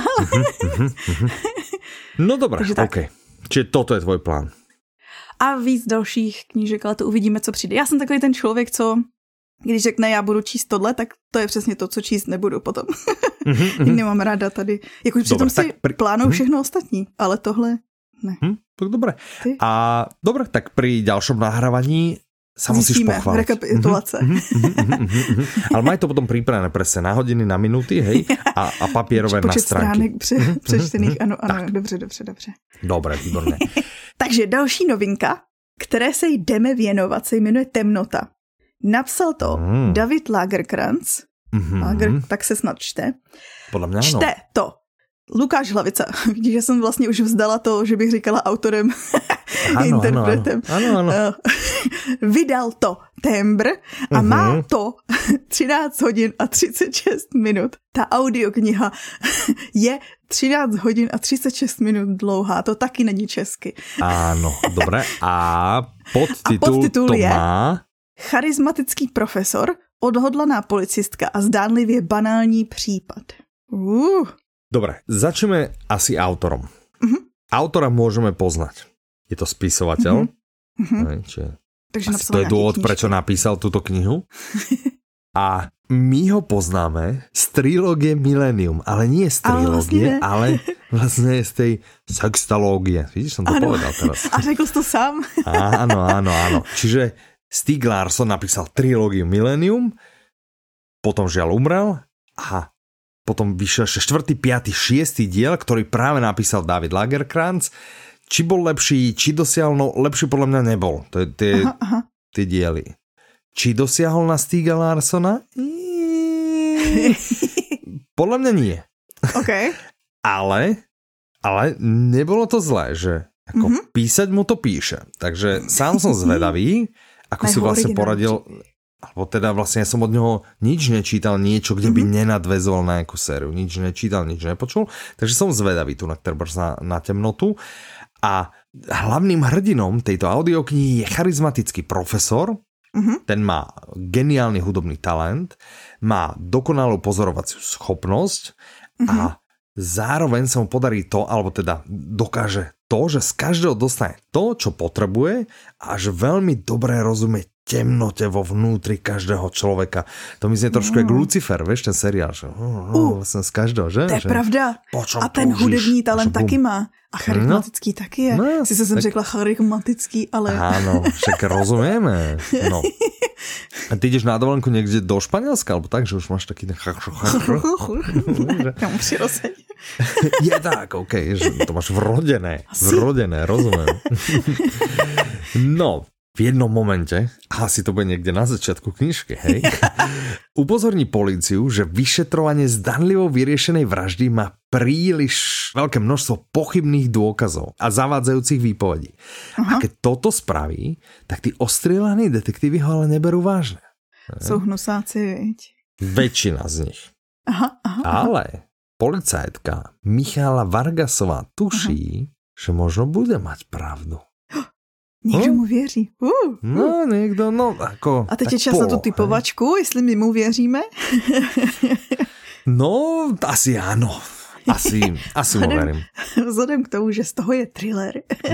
No dobré, OK. Čiže toto je tvoj plán. A víc dalších knížek, ale to uvidíme, co přijde. Já jsem takový ten člověk, co když řekne, já budu číst tohle, tak to je přesně to, co číst nebudu potom. Nemám ráda tady. Jakož přitom si plánuju všechno ostatní, ale tohle ne. Tak dobré. A dobré, tak pri ďalšom nahrávaní sa musíš pochváliť. Rekapitulace. Ale maj to potom pripravené presne na hodiny, na minúty, hej, a papierové na stránky. Počet stránek přečtených, ano, dobře. Dobré, výborné. Takže další novinka, které se jdeme věnovat, se jmenuje Temnota. Napsal to David Lagerkrantz. Tak se snad čte. Podle mě ano. Čte to Lukáš Hlavica. Vidíš, že jsem vlastně už vzdala to, že bych říkala autorem, interpretem. Ano. Vydal to Tembr a má to 13 hodin a 36 minut. Ta audiokniha je 13 hodin a 36 minut dlouhá. To taky není česky. Áno, dobre. A podtitul to je má... Charizmatický profesor, odhodlaná policistka a zdánlivě banální případ. Dobre, začneme asi autorom. Autora môžeme poznať. Je to spisovateľ. Takže asi to je dôvod, prečo napísal túto knihu. A my ho poznáme z trilógie Millennium, ale nie z trilógie, ale vlastne z tej sextalógie. Vidíš, som to povedal teraz. A řekl jsi to sám? Áno. Čiže Stieg Larsson napísal trilógiu Millennium, potom žiaľ umrel a potom vyšiel 4., 5., 6. diel, ktorý práve napísal David Lagercrantz. Či bol lepší, či dosiahol, no lepší podľa mňa nebol. To je tie diely. Či dosiahol na Stiega Larssona? Podľa mňa nie. Okay. Ale nebolo to zlé, že ako písať mu to píše. Takže sám som zvedavý, ako si vlastne poradil... Alebo teda vlastne ja som od neho nič nečítal, niečo, kde by nenadväzoval na nejakú sériu. Nič nečítal, nič nepočul. Takže som zvedavý tu na temnotu. A hlavným hrdinom tejto audioknihy je charizmatický profesor. Ten má geniálny hudobný talent, má dokonalú pozorovaciu schopnosť a zároveň sa mu podarí to, alebo teda dokáže to, že z každého dostane to, čo potrebuje a že veľmi dobre rozumie temnote vo vnútri každého človeka. To mi znie trošku jak Lucifer, vieš, ten seriál, že vlastne z každého, že? To je pravda. A ten hudební talent taky má. A charizmatický taky je. Sice jsem řekla charizmatický, ale... Áno, však rozumieme. No. A ty ideš na dovolenku niekde do Španielska, alebo tak, že už máš taký... Tam přirozeně. Je tak, okej, že to máš vrodené, rozumiem. No, v jednom momente, asi to bude niekde na začiatku knižky, hej, upozorní políciu, že vyšetrovanie zdanlivo vyriešenej vraždy má príliš veľké množstvo pochybných dôkazov a zavádzajúcich výpovedí. A keď toto spraví, tak tí ostrieľaní detektívy ho ale neberú vážne. Sú hnusáci, viď? Väčšina z nich. Ale policajtka Michála Vargasová tuší, že možno bude mať pravdu. Někdo mu věří. No, někdo, no, ako... A teď je čas na tu typovačku, jestli my mu věříme. No, asi áno. Asi mu verím. Vzhledem k tomu, že z toho je thriller.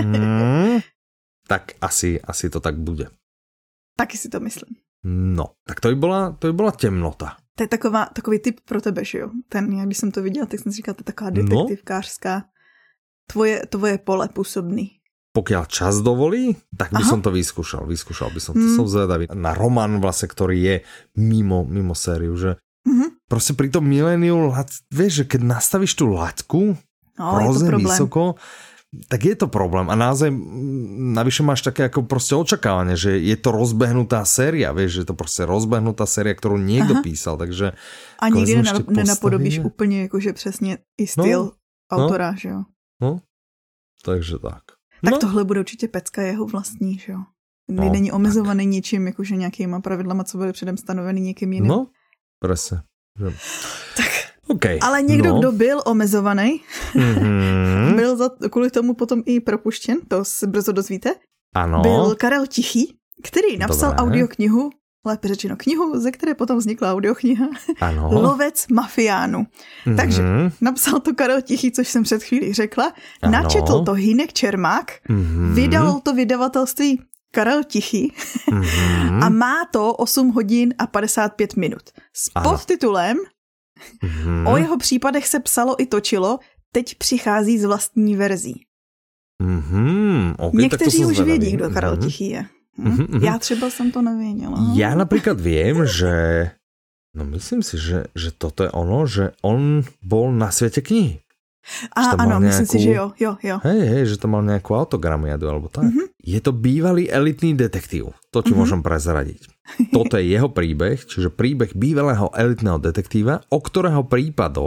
Tak asi to tak bude. Taky si to myslím. No, tak to by bola temnota. To je takový typ pro tebe, že jo? Ten, jak když jsem to viděla, tak jsem si říkala, to je taková detektivkářská. Tvoje pole působný. Pokiaľ čas dovolí, tak by som to vyskúšal by som to. Som zvedavý na román vlastne, ktorý je mimo sériu, že proste pri tom Millenniu, vieš, že keď nastavíš tú laťku hrozne vysoko, tak je to problém a naozaj navyše máš také ako proste očakávanie, že je to rozbehnutá séria, vieš, že je to proste rozbehnutá séria, ktorú niekto písal, takže... A nikdy nenapodobíš úplně jakože přesně i styl autora, že jo? No, takže tak. Tak tohle bude určitě pecka jeho vlastní, že jo? Není omezovaný ničím, jakože nějakýma pravidlama, co byly předem stanoveny někým jiným. No, presne. Tak, okay, ale někdo, kdo byl omezovaný, byl kvůli tomu potom i propuštěn, to se brzo dozvíte. Ano. Byl Karel Tichý, který napsal audioknihu, lépe řečeno knihu, ze které potom vznikla audiokniha, Lovec mafiánů. Takže napsal to Karel Tichý, což jsem před chvílí řekla, načetl to Hynek Čermák, vydal to vydavatelství Karel Tichý a má to 8 hodin a 55 minut. S podtitulem O jeho případech se psalo i točilo, teď přichází z vlastní verzí. Okay, někteří už vědí, kdo Karel Tichý je. Já třeba jsem to nevěděla. Ja napríklad viem, že myslím si, že toto je ono, že on bol na svete knihy. Áno, myslím si, že jo. Hej, že to mal nejakú autogramiadu alebo tak. Je to bývalý elitný detektív. To ti môžem prezradiť. Toto je jeho príbeh, čiže príbeh bývalého elitného detektíva, o ktorého prípadoch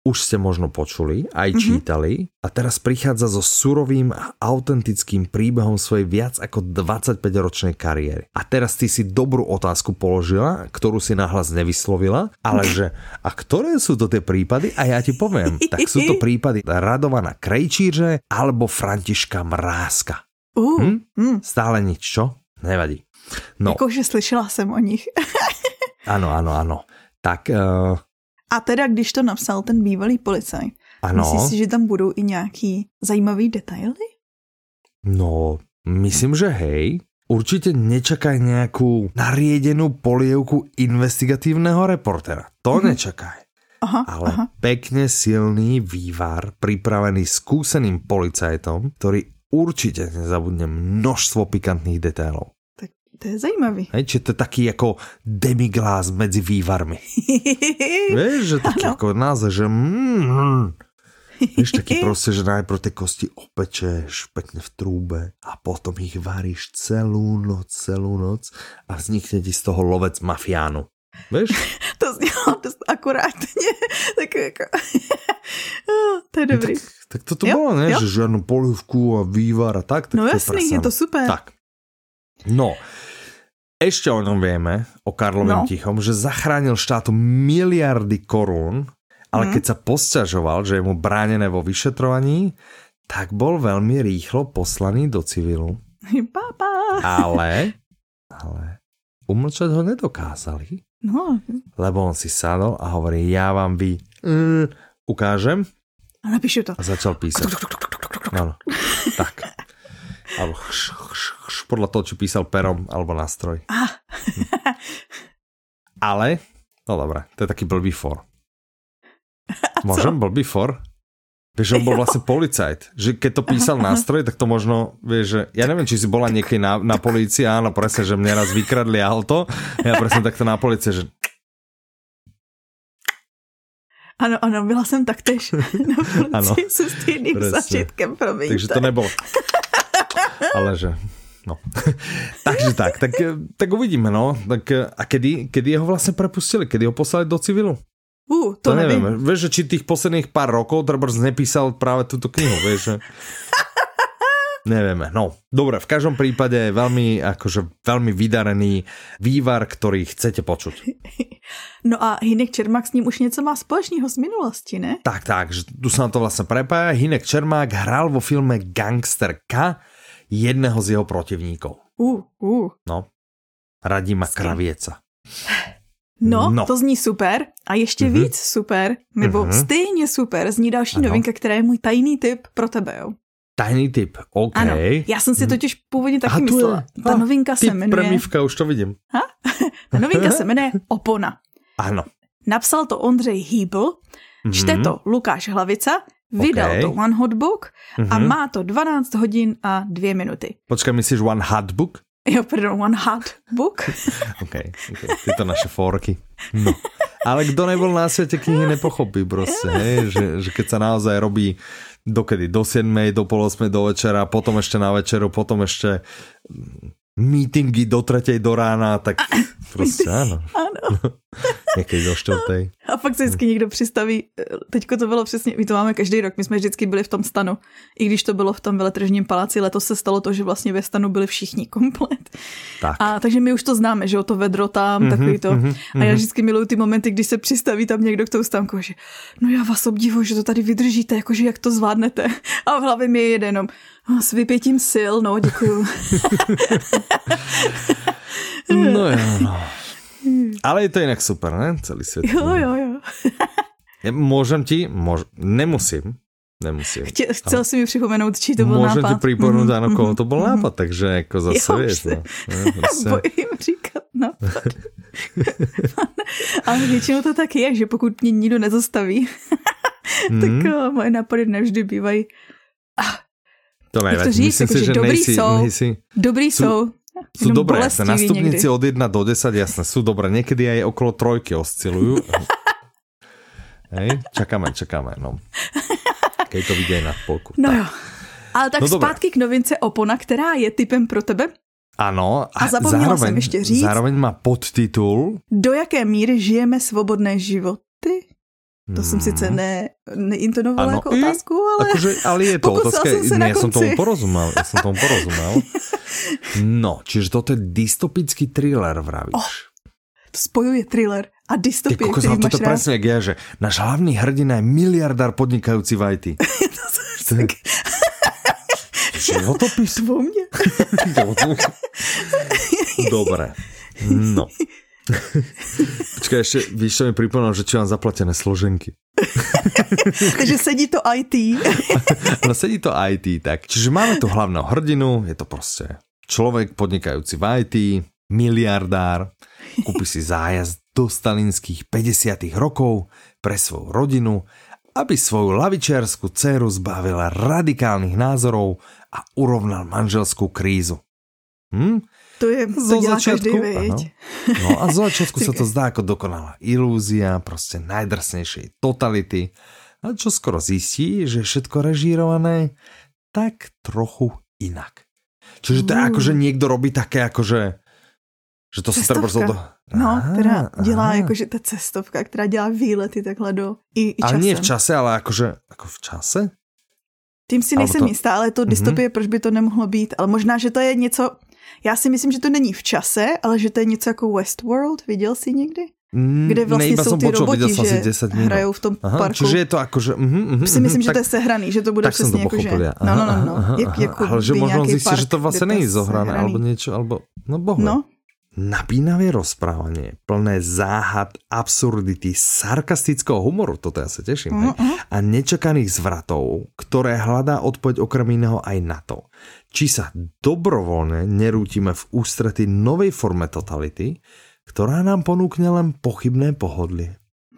už ste možno počuli, aj čítali a teraz prichádza so surovým a autentickým príbehom svojej viac ako 25-ročnej kariéry. A teraz ty si dobrú otázku položila, ktorú si nahlas nevyslovila, ale že a ktoré sú to tie prípady? A ja ti poviem, tak sú to prípady Radovana Krejčíře alebo Františka Mrázka. Stále nič, čo? Nevadí. No. Jakože slyšela jsem o nich. Ano. Tak... A teda, když to napsal ten bývalý policajt, myslíš si, že tam budou i nějaký zajímavý detaily? No, myslím, že hej. Určite nečakaj nejakú nariedenú polievku investigatívneho reportera. To nečakaj. Ale pekne silný vývar, pripravený skúseným policajtom, ktorý určite nezabudne množstvo pikantných detailov. To je zajímavý. Hej, či to je taký ako demiglás medzi vývarmi. Vieš, že taký ako název, že vieš, taký proste, že najprv tie kosti opečeš pekne v trúbe a potom ich varíš celú noc a vznikne ti z toho lovec mafiánu. Vieš? To znělo dost akurátně. Tak jako... to je dobrý. Tak toto bolo, ne? Že žiadnu polievku a vývar a tak. No jasný, je to super. Tak. No, ešte o ňom vieme, o Karlovém Tichom, že zachránil štátu miliardy korún, ale keď sa posťažoval, že je mu bránené vo vyšetrovaní, tak bol veľmi rýchlo poslaný do civilu. Ale umlčať ho nedokázali, lebo on si sadol a hovorí, ja vám ukážem. A napíšu to. A začal písať. Áno, tak. Alebo podľa toho, či písal perom alebo nástroj. Ale, no dobré, to je taký blbý for. Môžem blbý for? Vieš, on bol vlastne policajt. Že keď to písal nástroj, tak to možno, vieš, že ja neviem, či si bola niekedy na polícii, áno, presne, že mne raz vykradli auto. Ja presne takto na polícii, že... Ano, byla jsem taktéž na policii se stejným zažitkem, promiňte. Takže to nebolo. Ale že, no. Takže tak uvidíme, no. Tak, a kedy ho vlastne prepustili? Kedy ho poslali do civilu? To neviem. Vieš, že či tých posledných pár rokov Drbrs nepísal práve túto knihu, vieš, že... Nevieme, no. Dobre, v každom prípade veľmi vydarený vývar, ktorý chcete počuť. No a Hynek Čermák s ním už něco má společného z minulosti, ne? Tak, že tu sa na to vlastne prepája. Hynek Čermák hral vo filme Gangsterka jedného z jeho protivníkov. No, Radima Kravieca. No, to zní super. A ještě víc super, nebo stejně super, zní další novinka, která je můj tajný tip pro tebe, jo. Tajný tip, OK. Ano, já jsem si totiž původně taky myslela. Ta novinka se jmenuje... Premivka, už to vidím. Ta novinka se jmenuje Opona. Ano. Napsal to Ondřej Hýbl, čte to Lukáš Hlavica, vydal to One Hot Book a má to 12 hodin a 2 minuty. Počkaj, myslíš One Hot Book? Jo, pardon, One Hot Book. OK, tyto naše forky. No. Ale kdo nebol na svete knihy, nepochopí proste, hej? Že keď sa naozaj robí dokedy? Do 7, do pol 8 do večera, potom ešte na večeru, potom ešte meetingy do 3 do rána, tak prostě áno. Někdy do 4. A fakt se vždycky někdo přistaví, teďko to bylo přesně, my to máme každý rok, my jsme vždycky byli v tom stanu, i když to bylo v tom veletržním paláci, letos se stalo to, že vlastně ve stanu byli všichni komplet. Tak. A takže my už to známe, že jo, to vedro tam, takový to. A já vždycky miluju ty momenty, když se přistaví tam někdo k tou stánku, že no já vás obdivuji, že to tady vydržíte, jakože jak to zvládnete. A v hlavě mi je jede jenom s vypětím sil, no děkuju. No jo, no. Ale je to inak super, ne? Celý svět. Jo. Môžem ti? Nemusím. Chcel si mi připomenout, či to byl nápad. Môžem ti pripomenout, áno, koho to bol nápad, takže jako zase vieš. No. Bojím říkat nápad. Ale většinou to tak je, že pokud mě nikdo nezastaví, tak moje nápady nevždy bývají. To nevadí. Myslím si, že dobrý jsou. Sú dobré, na stupnici od 1 do 10, jasné, sú dobré. Niekedy aj okolo 3 oscilujú. Hej, čakáme, no. Keď to vidí aj na polku. No jo, ale tak zpátky k novince Opona, která je tipem pro tebe. Ano, a zapomněla jsem ještě říct. Zároveň má podtitul. Do jaké míry žijeme svobodné životy? To som sice neintonovala ako otázku, ale... Ale je to otázka, ja som tomu porozumel. No, čiže toto je dystopický thriller, vravíš. To spojuje thriller a dystopie, ktorý máš rád. Toto presne jak ja, že náš hlavný hrdina je miliardár podnikajúci v IT. Životopis? Vo mne? Dobre, no. Počkaj, ešte, víš, čo mi pripomínal, že či mám zaplatené složenky. Takže sedí to IT. No sedí to IT, tak. Čiže máme tu hlavného hrdinu, je to proste človek podnikajúci v IT, miliardár, kúpi si zájazd do stalinských 50. rokov pre svoju rodinu, aby svoju lavičiarsku dceru zbavila radikálnych názorov a urovnal manželskú krízu. To dělá každý, veď. No a z začiatku sa to zdá ako dokonalá ilúzia, proste najdrsnejšej totality. A čo skoro zistí, že je všetko režírované tak trochu inak. Čiže to je ako, že niekto robí také akože, že to se treba do... No, teda dělá jakože ta cestovka, která dělá výlety takhle do i časem. Ale nie v čase, ale akože, ako v čase? Tím si nejsem jistá, ale to dystopie, proč by to nemohlo být? Ale možná, že to je něco... Já si myslím, že to není v čase, ale že to je něco jako Westworld. Viděl jsi někdy? Kde vlastně jsou ty roboti, že hrajou v tom parku. Čiže je to akože... si myslím, že to je sehraný, že to bude přesně jako, že... No. Ale že možno zjistit, že to vlastně není zohrané, alebo niečo, alebo... No bohu. No. Napínavé rozprávanie, plné záhad, absurdity, sarkastického humoru, toto ja sa teším, a nečakaných zvratov, ktoré hľadá odpoveď okrem iného aj na to, či sa dobrovoľne nerútime v ústrety novej forme totality, ktorá nám ponúkne len pochybné pohodlie.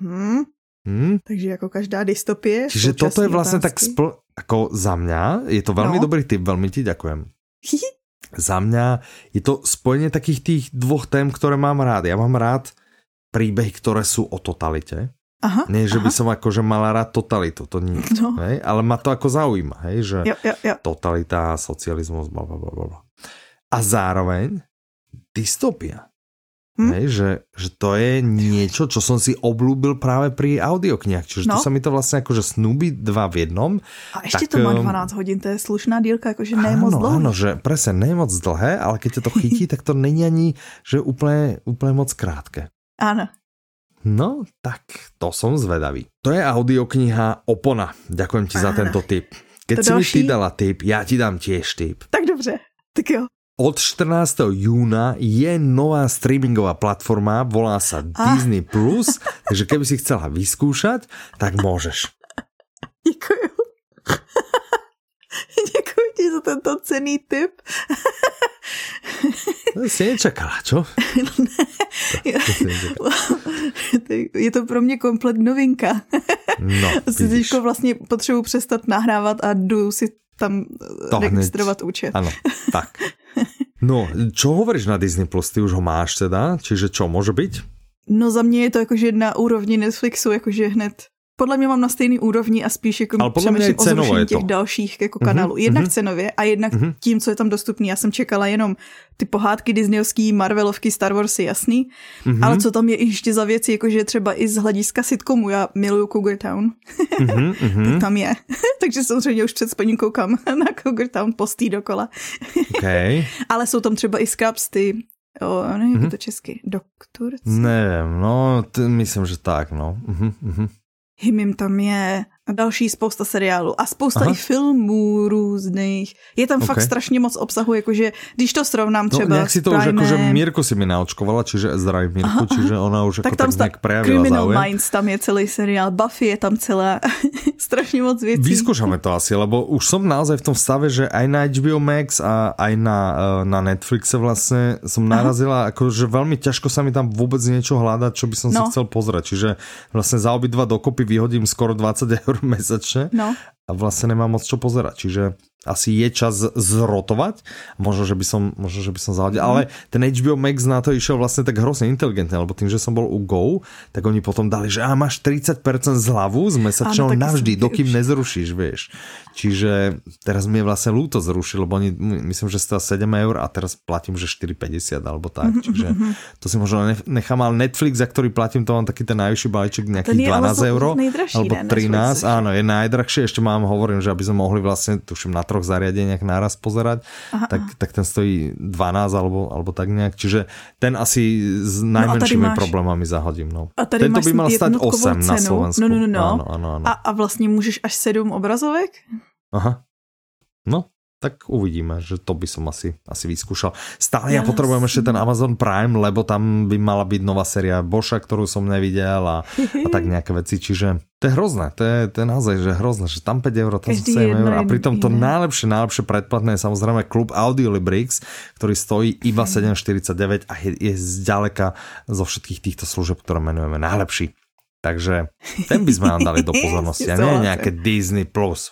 Takže ako každá dystopie. Čiže toto je vlastne otázky. Tak ako za mňa, je to veľmi dobrý tip, veľmi ti ďakujem. Za mňa je to spojenie takých tých dvoch tém, ktoré mám rád. Ja mám rád príbehy, ktoré sú o totalite. Nie, že by som akože mala rád totalitu, to nie. No. Hej? Ale ma to ako zaujíma, hej? Že totalita, socializmus, blablabla. A zároveň dystopia. Hej? Že to je niečo, čo som si obľúbil práve pri audioknihách. Čiže tu sa mi to vlastne akože snúbi dva v jednom. A ešte to má 12 hodín, to je slušná dílka, akože nie je moc dlhé. Áno, že presne, nie je moc dlhé, ale keď ťa to chytí, tak to není ani, že úplne moc krátke. Áno. No, tak to som zvedavý. To je audiokniha Opona. Ďakujem ti za tento tip. Keď si mi ty dala tip, ja ti dám tiež tip. Tak dobře, tak jo. Od 14. júna je nová streamingová platforma, volá sa Disney+, takže keby si chcela vyskúšať, tak môžeš. Děkuju. Děkuji ti za tento cenný tip. Si nečakala, čo? Je to pro mě komplet novinka. No, vidíš. Teďko vlastně potřebuji přestat nahrávat a jdu si tam registrovat účet. Áno, tak. No, čo hovoríš na Disney+? Ty už ho máš teda? Čiže čo, môže byť? No za mě je to jakože na úrovni Netflixu, jakože hned. Podle mě mám na stejný úrovni a spíš jako přemýšlím o zrušení těch dalších jako kanálů. Jednak cenově a jednak tím, co je tam dostupný. Já jsem čekala jenom ty pohádky disneyovský, Marvelovky, Star Warsy, jasný. Ale co tam je ještě za věci, jakože třeba i z hlediska sitcomu. Já miluju Cougar Town. Tak tam je. Takže samozřejmě už před spaním koukám na Cougar Town postý dokola. Okay. Ale jsou tam třeba i Scrubs, ty... nevím, jak je to česky. Doktor? Nevím, no, myslím, že tak, no. Hymim tam je a další spousta seriálů a spousta i filmů různých. Je tam fakt strašně moc obsahu, jakože když to srovnám třeba nejak si to už akože Mirku si mi naočkovala, čiže zdravím Mirku, čiže ona už tak ako tak nejak prejavila Criminal záujem. Minds, tam je celý seriál, Buffy je tam celá, strašně moc věcí. Vyskúšame to asi, lebo už som naozaj v tom stave, že aj na HBO Max a aj na Netflixe vlastne som narazila, akože veľmi ťažko sa mi tam vôbec niečo hľadať, čo by som si chcel pozrieť, čiže vlastne za obidva dokopy vyhodím skoro 20 € mesačne a vlastne nemám moc čo pozerať, čiže asi je čas zrotovať. Možno, že by som zahodil. Ale ten HBO Max na to išiel vlastne tak hrozne inteligentne, lebo tým, že som bol u Go, tak oni potom dali, že máš 30% zľavu z mesačného navždy, dokým nezrušíš, vieš. Čiže teraz mi je vlastne ľúto zrušil, lebo oni, myslím, že stojí 7 eur a teraz platím, že 4,50 alebo tak. Čiže to si možno nechám, ale Netflix, za ktorý platím, to mám taký ten najvyšší balíček, nejakých 12 eur. Alebo 13, áno, je najdrahšie. Ešte hovorím, že aby sme mohli vlastne, tuším, na 3 zariadeniach naraz pozerať, tak ten stojí 12 alebo tak nejak. Čiže ten asi s najmenšími problémami zahodím. No. A tady tento by mal stať 8 na Slovensku. No. Áno. A vlastne môžeš až 7 obrazovek? Aha. No, tak uvidíme, že to by som asi vyskúšal. Stále ja potrebujem ešte ten Amazon Prime, lebo tam by mala byť nová séria Boscha, ktorú som nevidel a tak nejaké veci, čiže to je hrozné, to je naozaj že hrozné, že tam 5 eur, tam 7 eur a pritom to najlepšie predplatné je samozrejme klub Audiolibrix, ktorý stojí iba 7,49 a je zďaleka zo všetkých týchto služeb, ktoré menujeme, najlepší. Takže ten by sme nám dali do pozornosti a nie nejaké Disney+.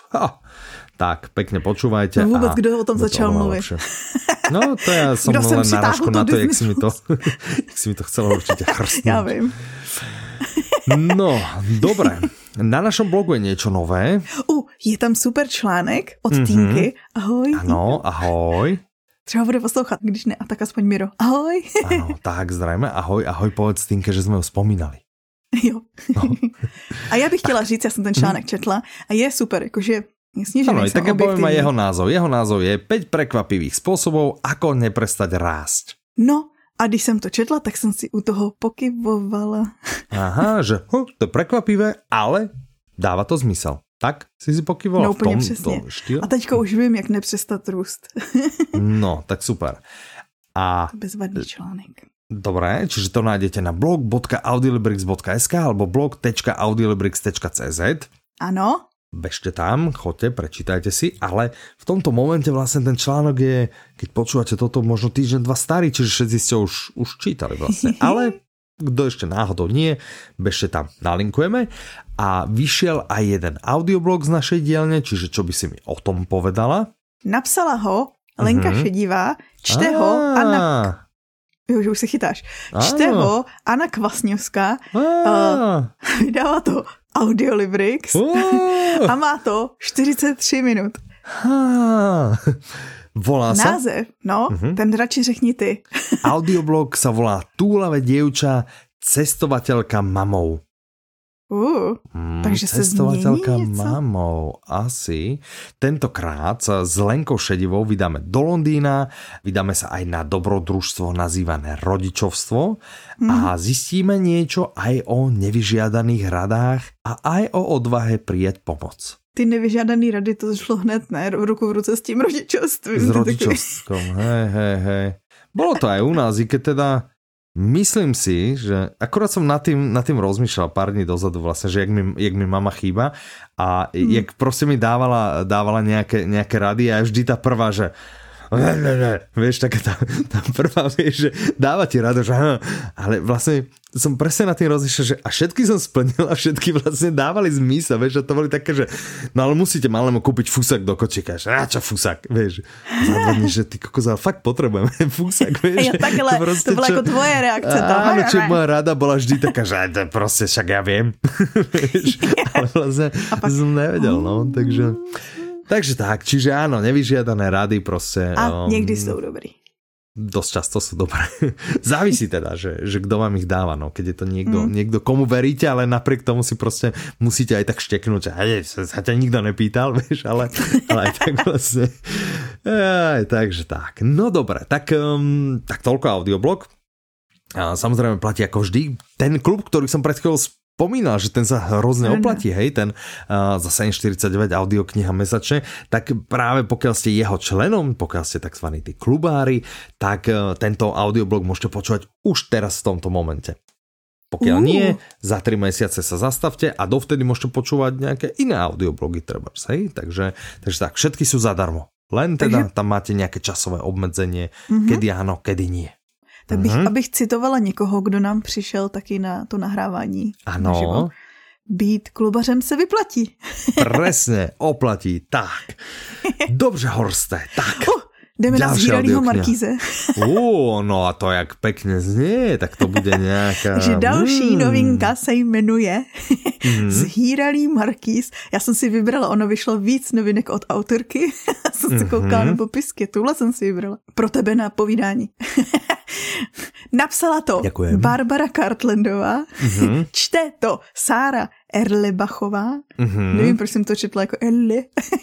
Tak, pekne počúvajte. No vôbec, kto o tom začal mluviť? No, to ja som len narážku na to, jak si mi to chcelo určite chrstnúť. Ja viem. No, dobre. Na našom blogu je niečo nové. Je tam super článek od Týnky. Ahoj. Áno, ahoj. Třeba bude poslouchat, když ne, a tak aspoň Miro. Ahoj. Áno, tak zrejme. Ahoj, povedz Týnke, že sme ju spomínali. Jo. No. A já bych chtěla říct, já jsem ten článek četla a je super, jakože jasně, že ano, tak ja poviem aj jeho názov. Jeho názov je 5 prekvapivých spôsobov, ako neprestať rásť. No, a když jsem to četla, tak jsem si u toho pokyvovala. Aha, že to je prekvapivé, ale dáva to zmysel. Tak si pokyvovala no, v tom štýle. A teďka už vím, jak nepřestat růst. No, tak super. A bezvadný článek. Dobre, čiže to nájdete na blog.audiolibrix.sk alebo blog.audiolibrix.cz. Áno. Bežte tam, choďte, prečítajte si, ale v tomto momente vlastne ten článok je, keď počúvate toto, možno týždeň, 2 starý, čiže všetci ste už čítali vlastne. Ale kto ešte náhodou nie, bežte tam, nalinkujeme. A vyšiel aj jeden audioblog z našej dielne, čiže čo by si mi o tom povedala? Napsala ho Lenka Šedivá, čte ho Anna... Už si chytáš. Čte ho Anna Kvasňovská, vydává to Audiolibrix a má to 43 minut. Volá sa? Název, ten radši řekni ty. Audioblog sa volá Túlavé dievča, cestovateľka mamou. Takže cestovateľka sa mamou, asi. Tentokrát sa s Lenkou Šedivou vydáme do Londýna, vydáme sa aj na dobrodružstvo nazývané rodičovstvo a zistíme niečo aj o nevyžiadaných radách a aj o odvahe prijať pomoc. Ty nevyžiadaný rady, to šlo hned, ne? Ruku v ruce s tím rodičovstvím. S rodičovstvom, hej. Bolo to aj u nás, i keď teda myslím si, že akurát som nad tým rozmýšľal pár dní dozadu vlastne, že jak mi mama chýba a jak proste mi dávala nejaké rady a vždy tá prvá, že vieš, taká tá prvá, vieš, že dáva ti rado, že ale vlastne som presne na tým rozmýšľal, že a všetky som splnil a všetky vlastne dávali zmysel, vieš, a to boli také, že no ale musíte malému kúpiť fúsak do kočíka, že čo fúsak, vieš, zadvadne, že ty kokos, ale fakt potrebujeme fúsak, vieš. Ja takhle, to bola ako tvoje reakcia. Áno, čo moja rada bola vždy taká, že proste však ja viem, vieš, ale vlastne som nevedel, no, Takže tak, čiže áno, nevyžiadané rady proste. A niekdy sú dobrý. Dosť často sú dobré. Závisí teda, že kto vám ich dáva, no. Keď je to niekto, komu veríte, ale napriek tomu si proste musíte aj tak šteknúť, že sa ťa nikto nepýtal, vieš, ale aj tak vlastne. Takže tak. No dobre, tak toľko audioblog. A samozrejme platí ako vždy. Ten klub, ktorý som pred chvíľou spomínal, že ten sa hrozne oplatí, hej, ten za 7,49 audiokniha mesačne, tak práve pokiaľ ste jeho členom, pokiaľ ste tzv. Tí klubári, tak tento audioblog môžete počúvať už teraz v tomto momente. Pokiaľ nie, za 3 mesiace sa zastavte a dovtedy môžete počúvať nejaké iné audioblogy trebárs, hej, takže tak, všetky sú zadarmo. Len teda tam máte nejaké časové obmedzenie, kedy áno, kedy nie. Tak abych citovala někoho, kdo nám přišel taky na to nahrávání. Ano. být klubařem se vyplatí. Presne, oplatí, tak. Dobře, Horste, tak. Jdeme na Zhýralýho Markíze. No a to jak pekne znie, tak to bude nějaká... Takže další novinka se jmenuje Zhýralý Markíz. Já jsem si vybrala, ono vyšlo víc novinek od autorky. Jsem se koukala na popisky, tuhle jsem si vybrala. Pro tebe na povídání. Napsala to Děkujem. Barbara Cartlandová, čte to Sára Erlebachová, nevím, proč jsem to četla jako Erle.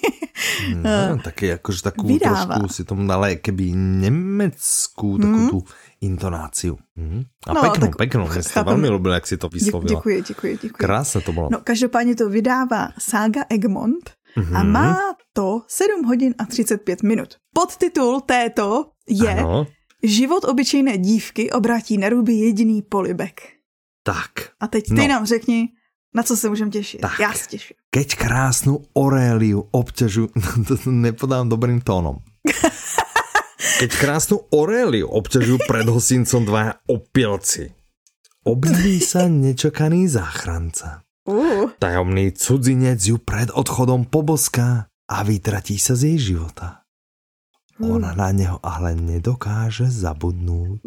Taky jakože takovou trošku si tomu dala keby německou takovou tu intonáciu. A no, peknou, mě jste velmi lubil, jak si to vyslovila. Děkuji. Krásne to bylo. No, každopádně to vydává Saga Egmont a má to 7 hodin a 35 minut. Podtitul této je Život obyčejné dívky obrátí na ruby jediný polibek. Tak. A teď ty nám řekni, na co se můžem těšit. Tak. Já se těším. Keď krásnu Auréliu obťažujú... To nepodám dobrým tónom. Keď krásnu Auréliu obťažujú pred hosincom dvaja opilci. Objaví sa nečakaný záchranca. Tajomný cudzinec ju pred odchodom poboská a vytratí sa z jej života. Ona na neho ale nedokáže zabudnúť.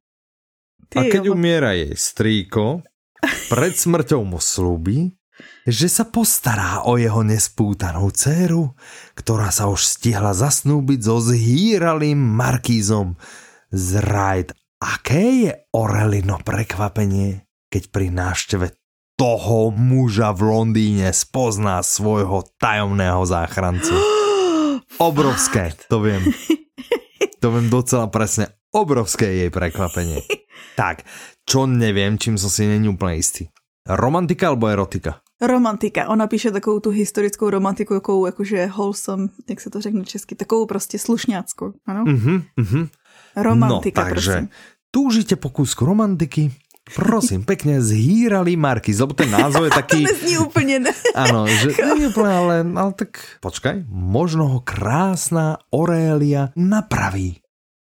A keď umiera jej strýko, pred smrťou mu slúbi, že sa postará o jeho nespútanú dcéru, ktorá sa už stihla zasnúbiť so Zhýralým Markízom z Ryde. Aké je Aurelino prekvapenie, keď pri návšteve toho muža v Londýne spozná svojho tajomného záchrancu. Obrovské, to viem. To viem docela presne. Obrovské jej prekvapenie. Tak, čo neviem, čím som si není úplne istý. Romantika alebo erotika? Romantika. Ona píše takovou tu historickou romantiku, jakou jakože wholesome, jak se to řekne česky, takovou prostě slušňáckou, ano? Romantika, no, takže prosím. Túžite po kúsku romantiky? Prosím, pekne Zhýralý Markíz, lebo ten názov je taký... To nezní úplně, ne? Áno, že nie úplne, ale tak počkaj, možno ho krásna Aurélia napraví.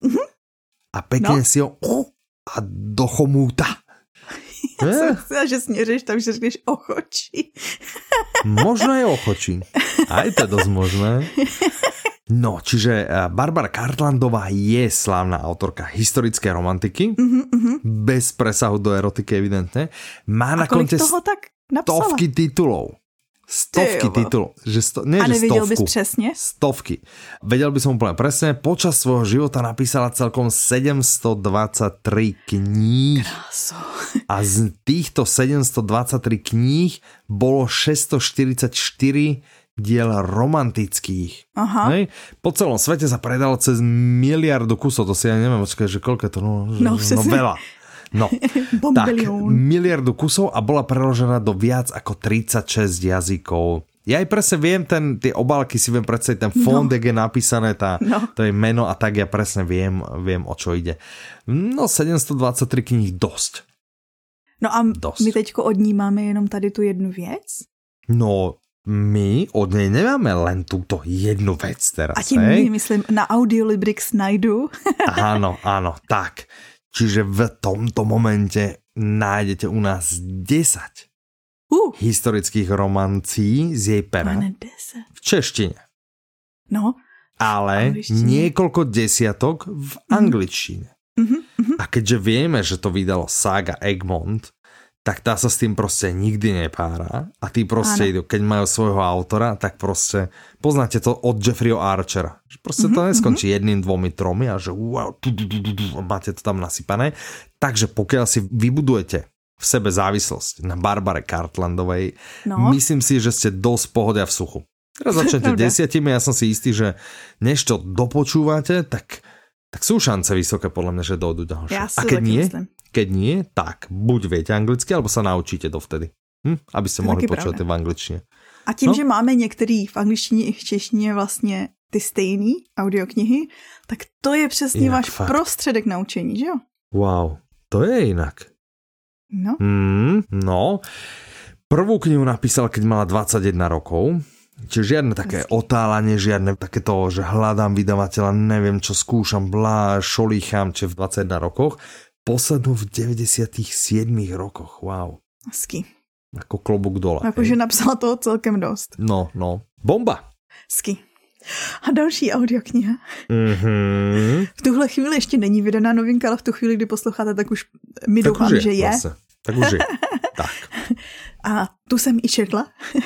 A pekne si ho a dochomúta. Já jsem myslela, že směřeš tam, že řekneš ochočí. Možno je ochočí. Aj to je dosť možné. No, čiže Barbara Cartlandová je slávna autorka historické romantiky, bez presahu do erotiky evidentne. Má na konte stovky titulov. Stovky titulov. A nevěděl bys přesně? Stovky. Vedel by som úplne presne. Počas svojho života napísala celkom 723 kníh. Kráso. A z týchto 723 kníh bolo 644 diel romantických. Aha. Hej? Po celom svete sa predalo cez 1 miliardu kusov. To si ja neviem, že koľko je to? No veľa. No, tak, 1 miliardu kusov a bola preložená do viac ako 36 jazykov. Ja aj presne viem, tie obálky si viem predstaviť, ten fond, jak je napísané, to je meno a tak ja presne viem, o čo ide. No, 723 kníh dosť. No a my teďko od ní máme jenom tady tu jednu věc? No, my od nej nemáme len túto jednu vec teraz. A tím my, myslím, na Audiolibrix najdu. Áno, tak. Čiže v tomto momente nájdete u nás 10 historických romancí z jej pera. V češtine. No. Ale niekoľko desiatok v angličtine. A keďže vieme, že to vydalo Saga Egmont, tak tá sa s tým proste nikdy nepára a tí proste idú, keď majú svojho autora, tak proste poznáte to od Jeffreyho Archera. Proste to neskončí 1, 2, 3 a že wow, máte to tam nasypané. Takže pokiaľ si vybudujete v sebe závislosť na Barbare Cartlandovej, myslím si, že ste dosť pohodia v suchu. Teraz začnete 10, ja som si istý, že než to dopočúvate, tak sú šance vysoké podľa mňa, že dojdu ďalšie. Ja a keď nie, tak buď viete anglicky, alebo sa naučíte dovtedy. Aby ste mohli počúvať v angličtine. A tím, že máme některý v angličtině i v češtině vlastně ty stejný audioknihy, tak to je přesně váš prostředek naučení, že jo? Wow, to je inak. No. No. Prvú knihu napísal, keď mala 21 rokov. Čiže žiadne také otálanie, žiadne takéto, že hľadám vydavateľa, neviem čo skúšam, šolícham, či v 21 rokoch. Poslednú v 97 rokoch, wow. Hezky. Ako klobúk dole. Akože napsala toho celkem dost. No. Bomba. Sky. A další audiokniha. V tuhle chvíli ještě není vydaná novinka, ale v tu chvíli, kdy posloucháte, tak už mi doufám, že je. Vlastně. Tak už je. Tak. A tu jsem i četla.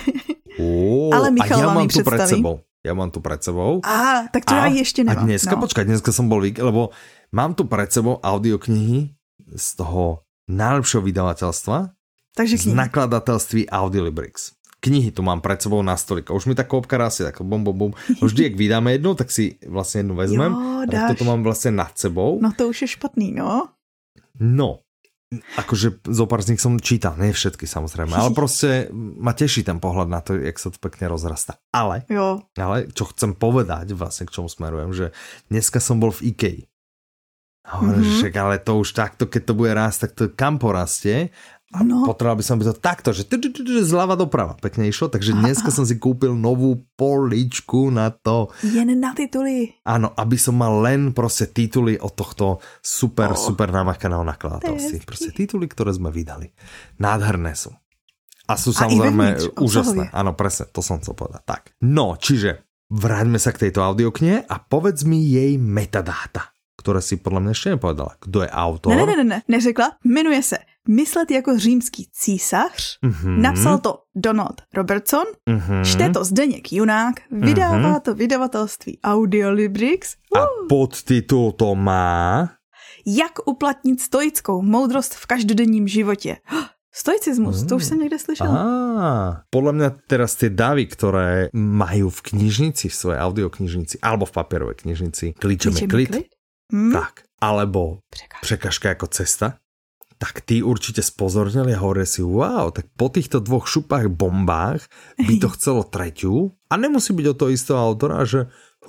Ale Michal vám ji představí. Ja mám tu pred sebou. Tak to já ještě nemám. A dneska, počkaj, dneska som bol, lebo mám tu pred sebou audioknihy z toho najlepšieho vydavateľstva. Takže z nakladatelství Audiolibrix. Knihy tu mám pred sebou na stolíku. Už mi tá kôpka rastie, tak bum. Vždy, ak vydáme jednu, tak si vlastne jednu vezmem. Tak toto mám vlastne nad sebou. No to už je špatný, no. No, akože zopár z nich som čítal, nie všetky samozrejme, ale proste ma teší ten pohľad na to, jak sa to pekne rozrastá. Ale čo chcem povedať, vlastne k čomu smerujem, že dneska som bol v IKEA. Hovorím, že ale to už takto, keď to bude rásť, tak to kam porastie. A potreboval by som byť to takto, že zľava doprava pekne išlo, takže dneska som si kúpil novú poličku na to. Jen na tituly. Áno, aby som mal len proste tituly od tohto super namakaného nakladateľství. Proste tituly, ktoré sme vydali. Nádherné sú. A sú samozrejme úžasné. Áno, presne, to som chcel povedať. Tak. No, čiže vráťme sa k tejto audioknihe a povedz mi jej metadáta, ktoré si podľa mňa ešte nepovedala. Kdo je autor? Ne, neřekla. Jmenuje se Myslet jako římský císař. Napsal to Donald Robertson. Čte to Zdeněk Junák. Vydává to vydavatelství Audiolibrix. A podtitul to má? Jak uplatnit stoickou moudrost v každodenním životě. Stoicismus, to už jsem někde slyšel. Podľa mňa teraz tie davy, ktoré majú v knižnici, v svojej audioknižnici, alebo v papierovej knižnici, Kličem je klid. Tak, alebo Překažka ako cesta, tak tí určite spozornili a hovoria si, wow, tak po týchto dvoch šupách bombách by to chcelo tretiu a nemusí byť od toho istého autora, že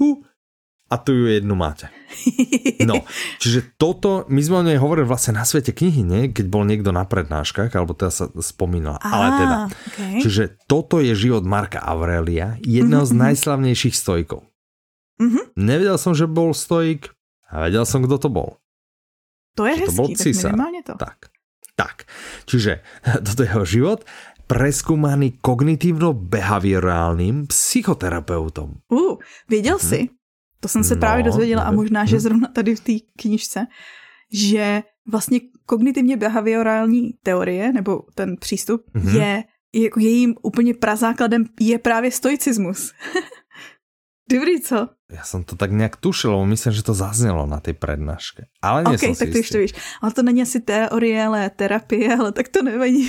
a tu ju jednu máte. No, čiže toto, my sme o nej hovorili vlastne na Svete knihy, nie? Keď bol niekto na prednáškach, alebo teda sa spomínala. Ale teda, čiže toto je život Marka Aurelia, jedného z najslavnejších stoikov. Nevedel som, že bol stoik, a vedel som, kto to bol. To je hezký, tak minimálne to. Tak. Čiže toto je jeho život, preskúmaný kognitívno-behaviorálnym psychoterapeutom. Věděl jsi, to jsem se právě dozvěděla a možná, že zrovna tady v té knižce, že vlastně kognitivně behaviorální teorie, nebo ten přístup, je jako jejím úplně prazákladem je právě stoicismus. Dobrý, co? Ja som to tak nejak tušil, lebo myslím, že to zaznelo na tej prednáške. Ale nie som si tak to už to víš. Ale to není asi teorie, ale terapie, ale tak to nevadí.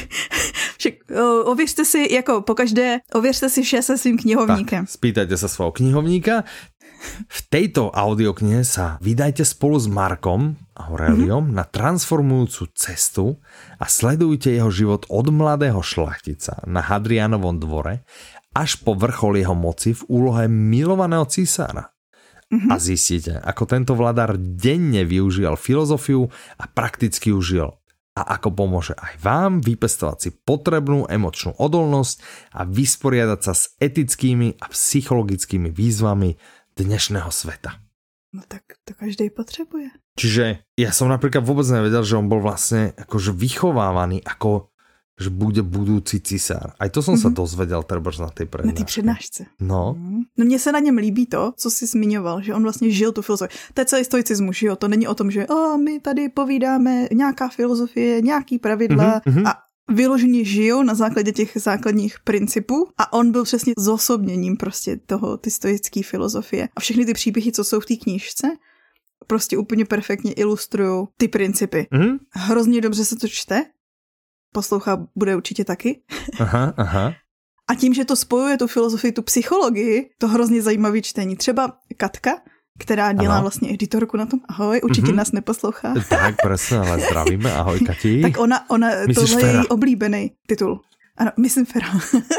Ověřte si, jako pokaždé, ověřte si vše se svým knihovníkem. Tak, spýtajte sa svojho knihovníka. V tejto audioknihe sa vydajte spolu s Markom Aureliom na transformujúcu cestu a sledujte jeho život od mladého šlachtica na Hadrianovom dvore až po vrchol jeho moci v úlohe milovaného císára. A zistíte, ako tento vladár denne využíval filozofiu a prakticky ju žil. A ako pomôže aj vám vypestovať si potrebnú emočnú odolnosť a vysporiadať sa s etickými a psychologickými výzvami dnešného sveta. No tak to každý potrebuje. Čiže ja som napríklad vôbec nevedel, že on bol vlastne akože vychovávaný ako že bude budoucí cisár. Aj to jsem se dozvěděl trebárs na té prednášce. Na té přednášce. No. No mně se na něm líbí to, co jsi zmiňoval, že on vlastně žil tu filozofii. To je celý stoicismus, že jo? To není o tom, že my tady povídáme nějaká filozofie, nějaký pravidla a vyloženě žijou na základě těch základních principů a on byl přesně zosobněním prostě toho, ty stoické filozofie. A všechny ty příběhy, co jsou v té knížce, prostě úplně perfektně ilustrují ty principy. Hrozně dobře se to čte. Poslouchá bude určitě taky. Aha. A tím, že to spojuje tu filozofii, tu psychologii, to hrozně zajímavý čtení. Třeba Katka, která dělá vlastně editorku na tom. Ahoj, určitě nás neposlouchá. Tak, presne, ale zdravíme. Ahoj, Kati. Tak ona tohle je její oblíbený titul. Ano, myslím Fera.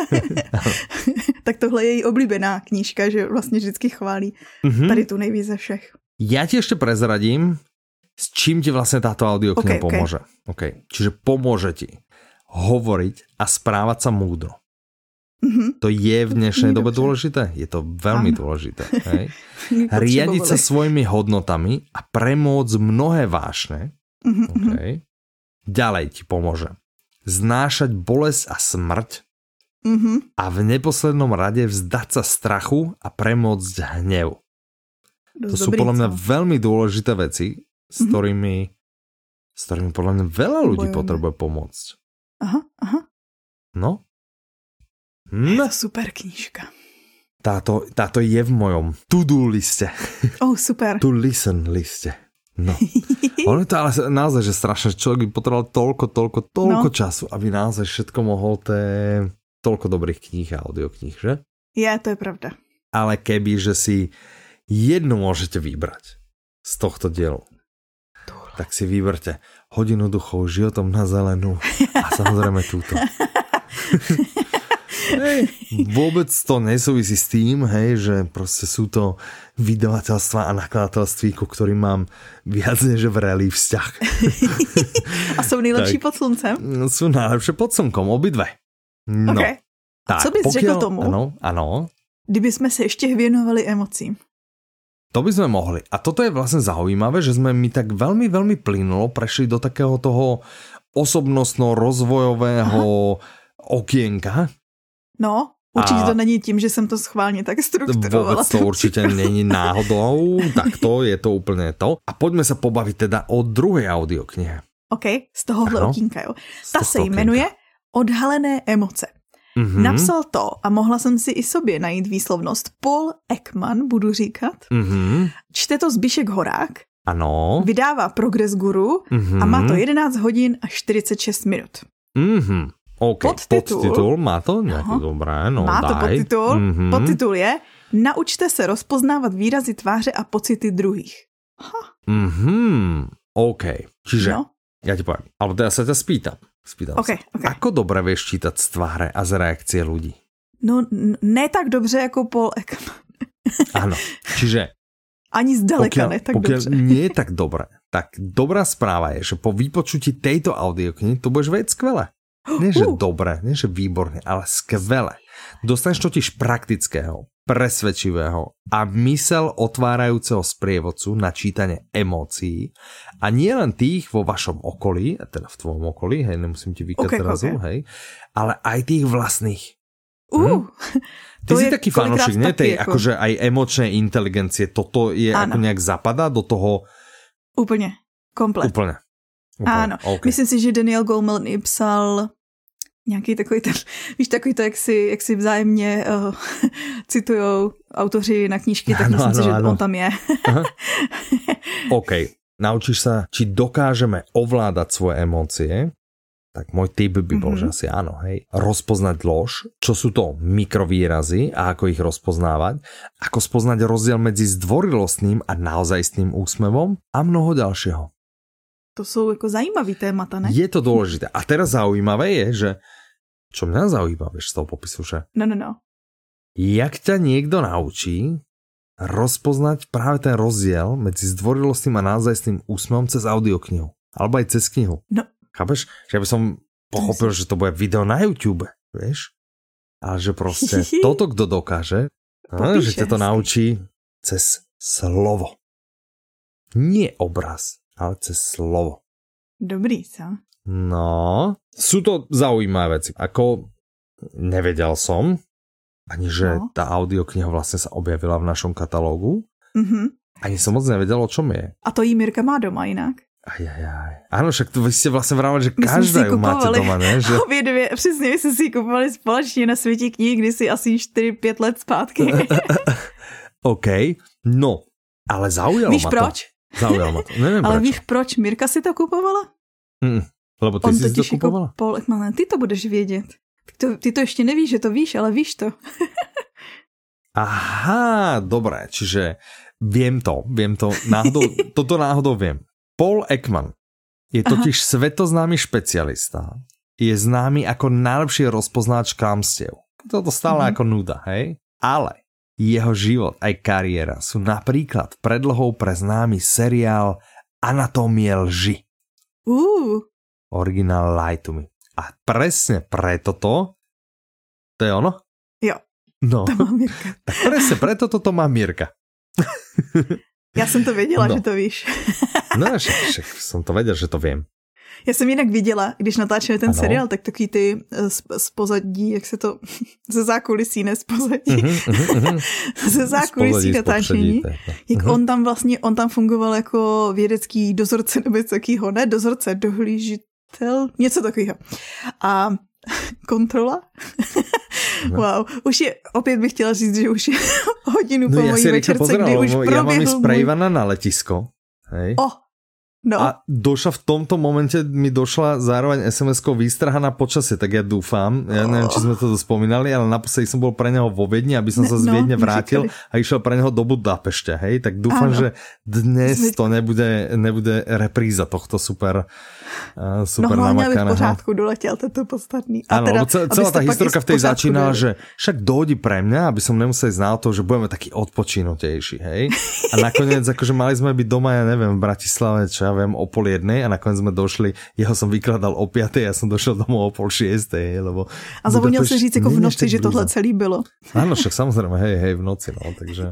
Tak tohle je její oblíbená knížka, že vlastně vždycky chválí tady tu nejvíc ze všech. Ja ti ešte prezradím, s čím ti vlastne táto audiokniha pomôže. Okay. Čiže pomôže ti hovoriť a správať sa múdro. To je v dnešnej dobe dôležité? Je to veľmi dôležité. Hej? Riadiť sa svojimi hodnotami a premôcť mnohé vášne. Okay. Ďalej ti pomôže znášať bolesť a smrť a v neposlednom rade vzdať sa strachu a premôcť hnev. To sú podľa mňa veľmi dôležité veci, s ktorými podľa mňa veľa ľudí potrebuje pomôcť. Aha. No? Je to super knížka. Táto je v mojom to-do liste. Super. To listen liste. No. Ono je to ale naozaj, že strašne človek by potreboval toľko času, aby naozaj všetko mohol toľko dobrých kníh a audiokníh, že? To je pravda. Ale keby, že si jednu môžete vybrať z tohto dielu, tak si vyberte Hodinu duchov, Životom na zelenú a samozrejme túto. Hej, vôbec to nesúvisí s tým, hej, že proste sú to vydavateľstva a nakladatelství, ku ktorým mám viac než vrelý vzťah. A sú nejlepší pod sluncem? Sú najlepšie pod slnkom, obidve. No. Okay. A co bys řekl tomu? Ano. Kdyby sme sa ešte věnovali emocím. To by sme mohli. A toto je vlastne zaujímavé, že sme mi tak veľmi, veľmi plynulo prešli do takého toho osobnostno-rozvojového okienka. No, určitě to není tím, že jsem to schválně tak strukturovala. Vôbec to určite není náhodou, takto je to úplne to. A poďme sa pobaviť teda o druhej audioknihe. OK, z tohohle okýnka, jo. Ta se jmenuje Odhalené emoce. Napsal to, a mohla jsem si i sobě najít výslovnost, Paul Ekman, budu říkat. Čte to Zbyšek Horák. Ano. Vydává Progress Guru a má to 11 hodin a 46 minut. OK, podtitul má to nějaký dobré, no má daj. to podtitul. Podtitul je Naučte se rozpoznávat výrazy tváře a pocity druhých. OK, čiže ja ti poviem, alebo teda sa ťa spýtam okay. Ako dobre vieš čítať z tváře a z reakcie ľudí? No, ne tak dobře jako Paul Ekman. Áno, čiže ani zdaleka ne tak dobře. Nie je tak dobré, tak dobrá správa je, že po vypočutí tejto audioknihy to budeš vedieť skvele. Nie, že dobre, nie, že výborne, ale skvele. Dostaneš totiž praktického, presvedčivého a mysel otvárajúceho sprievodcu na čítanie emócií a nie len tých vo vašom okolí, teda v tvojom okolí, hej, nemusím ti vykať zrazu, hej, ale aj tých vlastných. Ty si taký fanúšik, ne? Tej akože aj emočnej inteligencie, toto je ako nejak zapadá do toho? Úplne, komplet. Úplne. Áno, okay. Myslím si, že Daniel Goleman psal nějaký takový ten, víš, takový to, jak si vzájemně citujou autoři na knížky, tak myslím si, že on tam je. OK, naučíš sa, či dokážeme ovládať svoje emócie, tak môj tip by bol, že asi áno, hej. Rozpoznať lož, čo sú to mikrovýrazy a ako ich rozpoznávať, ako spoznať rozdiel medzi zdvorilostným a naozajstným úsmevom a mnoho ďalšieho. To sú ako zajímavý témata, ne? Je to dôležité. A teraz zaujímavé je, že čo mňa zaujíma, vieš, z toho popisu, že? No. Jak ťa niekto naučí rozpoznať práve ten rozdiel medzi zdvorilostným a naozajstným úsmevom cez audioknihu. Alebo aj cez knihu. No. Chápeš? Že by som pochopil, že to bude video na YouTube, vieš? Ale že proste toto, kto dokáže, že ťa to naučí cez slovo. Nie obraz, ale cez slovo. Dobrý, co? No, sú to zaujímavé veci. Ako nevedel som, ani že tá audiokniha vlastne sa objavila v našom katalógu. Ani som moc nevedel, o čom je. A to jí Mirka má doma inak. Ajajaj. Áno, však vy ste vlastne vravali, že každá ju máte doma, ne? Že... Obě dvě, přesně, my jsme si ji kupovali společně na Světí knih, kdysi asi 4-5 let zpátky. OK, no, ale zaujalo víš ma proč? to. Zaujalo ma to. Neviem ale prečo. víš proč Mirka si to kupovala? Lebo ty si to kupovala? Paul Ekman, ty to budeš vědět. Ty to ještě nevíš, že to víš, ale víš to. Aha, dobré, čiže viem to, toto náhodou viem. Paul Ekman je totiž svetoznámy špecialista. Je známy ako najlepší rozpoznáč klamstiev. Toto stále ako nuda, hej? Ale jeho život aj kariéra sú napríklad predlohou pre známy seriál Anatómie lži. Originál Lie to Me. A presne preto to je ono? Jo, no. To má Mirka. Tak presne preto to má Mirka. Já jsem to věděla, že to víš. No, však som to vedel, že to viem. Já jsem jinak viděla, když natáčeli ten seriál, tak taky ty z pozadí, jak se to, ze zákulisí, ne z pozadí, ze zákulisí natáčení, jak on tam fungoval jako vědecký dozorce nebo něco takového, ne dozorce, dohlížitel, něco takového. A kontrola? Wow, už je, opět bych chtěla říct, že už je hodinu po mojí večerce, kdy už proběhl. Ja mám ísť pre Ivana na letisko. Hej. No. A došla v tomto momente, mi došla zároveň SMS-kou výstraha na počasie, tak ja dúfam, ja neviem, či sme to spomínali, ale naposledy som bol pre neho vo Viedni, aby som sa z Viedne vrátil a išiel pre neho do Budapešte, hej, tak dúfam, že dnes to nebude repríza tohto super namakaného. No v pořádku doletěl, to je podstatný. Áno, celá tá historka v tej začínala, že však dojdi pre mňa, aby som nemusel ísť na to, že budeme taký odpočinutejší, hej. A nakoniec, akože mali sme byť doma, ja neviem, v Bratislave, čo ja viem, o 12:30 a nakoniec sme došli, jeho som vykladal o 5:00, ja som došiel domov o 5:30, lebo... A zapomněl si říct jako v noci, že tohle celý bylo. Áno, však samozrejme, hej, v noci, no, takže...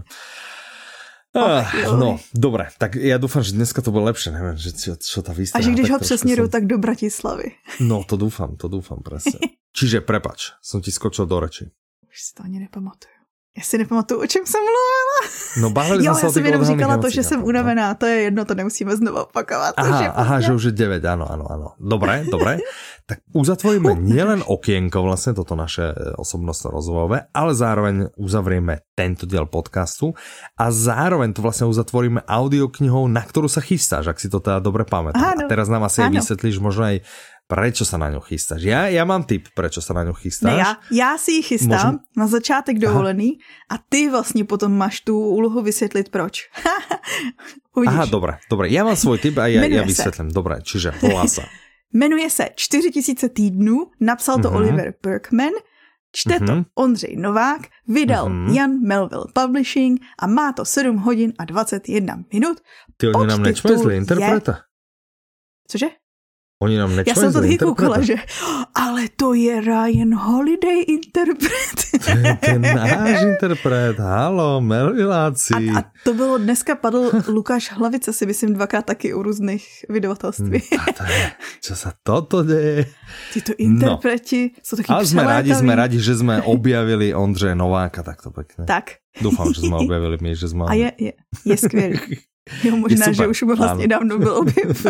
No, dobre, tak ja dúfam, že dneska to bude lepšie, neviem, že čo tá výstrha. A že když ho přesměrujú, tak do Bratislavy. No, to dúfam presne. Čiže prepač, som ti skočil do reči. Už si to ani nepamatuju. Já si nepamatuju, o čem jsem mluvila. No bavili jsme se o těch odhalných emocích. Já jsem jenom říkala to, že jsem unavená, to je jedno, to nemusíme znovu opakovat. Aha, že už je 9, áno. Dobre. Tak uzatvoríme nielen okienko, vlastne toto naše osobnostno rozvojové, ale zároveň uzavrieme tento diel podcastu a zároveň to vlastne uzatvoríme audioknihou, na ktorú sa chystáš, ak si to teda dobre pamätám. A teraz nám asi aj vysvetlíš možno aj prečo sa na ňu chystáš? Ja mám tip, prečo sa na ňu chystáš. Ne, já si ji chystám na začátek dovolený a ty vlastně potom máš tu úlohu vysvětlit proč. Aha, dobre. Ja mám svoj tip a ja vysvetlím. Dobre, čiže volá sa. Jmenuje se 4000 týdnů, napsal to Oliver Burkeman, čte to Ondřej Novák, vydal Jan Melville Publishing a má to 7 hodin a 21 minut. Ty oni nám nečmezli interpreta? Cože? Oni nám nečmezli interpreta? Já jsem to taky koukala, že ale to je Ryan Holiday interpret. Ten náš interpret, halo, Melvilláci. A to bylo, dneska padl Lukáš Hlavice, si myslím 2krát taky u různých vydavatelství. A to je, čo sa toto deje? Títo interpreti sú takí přelétaví. Ale sme radi, že sme objavili Ondřeje Nováka takto pekne. Tak. Dúfam, že sme objavili my, že sme... A je skvělý. Jo, možná, že už vlastně dávno byl objeven.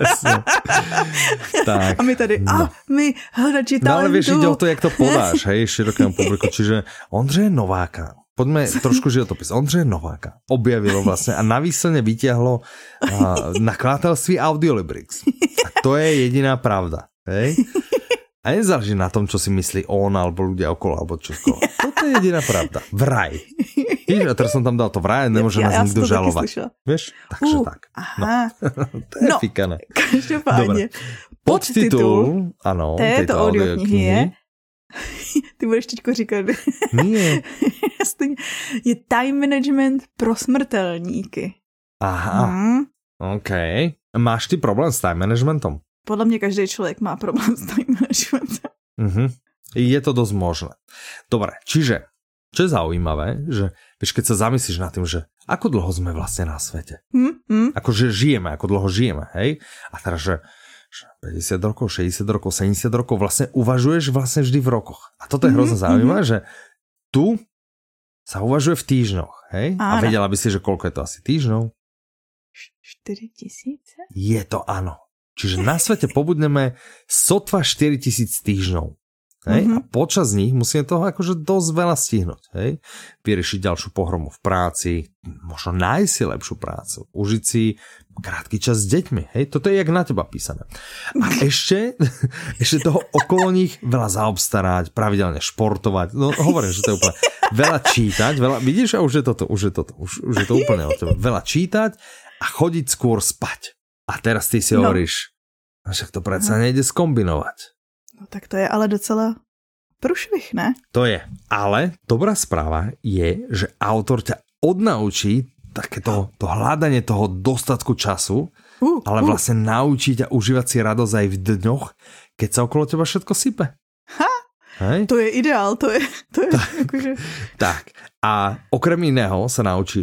Tak, a my tady, my hledači talentu. No ale vieš, ide o to, jak to podáš, hej, širokému publiku. Čiže Ondřeje Nováka, poďme trošku životopis. Ondřeje Nováka objavilo vlastne a na výsledne vytiahlo nakladatelství Audiolibrix. A to je jediná pravda, hej? A nezáleží na tom, čo si myslí on, alebo ľudia okolo, alebo čo skoro. Toto je jediná pravda. Vraj. Víš, a teraz som tam dal to vraj, nemôže nás nikto žalovať. Vieš? Takže tak. Aha. To je fikané. Každopádně. Podtitul, ano, této audioknihy je... Ty budeš teďko říkat. Nie. Je time management pro smrtelníky. Aha. OK. Máš ty problém s time managementom? Podľa mňa každý človek má problém s time managementem. Je to dosť možné. Dobre, čiže, čo je zaujímavé, že vieš, keď sa zamyslíš nad tým, že ako dlho sme vlastne na svete. Akože žijeme, ako dlho žijeme, hej? A teraz, že 50 rokov, 60 rokov, 70 rokov, vlastne uvažuješ vlastne vždy v rokoch. A toto je hrozne zaujímavé, že tu sa uvažuje v týždňoch, hej? A vedela by si, že koľko je to asi týždňov? 4000? Je to áno. Čiže na svete pobudneme sotva 4000 týždňov. Hej? A počas nich musíme toho akože dosť veľa stihnúť. Hej? Vyriešiť ďalšiu pohromu v práci, možno nájsť si lepšiu prácu, užiť si krátky čas s deťmi. Hej? Toto je jak na teba písané. A ešte toho okolo nich veľa zaobstarať, pravidelne športovať. No hovorím, že to je úplne veľa čítať, vidíš, a už je to úplne od teba. Veľa čítať a chodiť skôr spať. A teraz ty si hovoríš, však to predsa nejde skombinovať. No tak to je ale docela průšvih, ne? To je, ale dobrá správa je, že autor ťa odnaučí takéto to hľadanie toho dostatku času, ale vlastne naučí ťa užívať si radosť aj v dňoch, keď sa okolo teba všetko sype. Hej? To je ideál, to je akože... Tak, a okrem iného sa naučíš k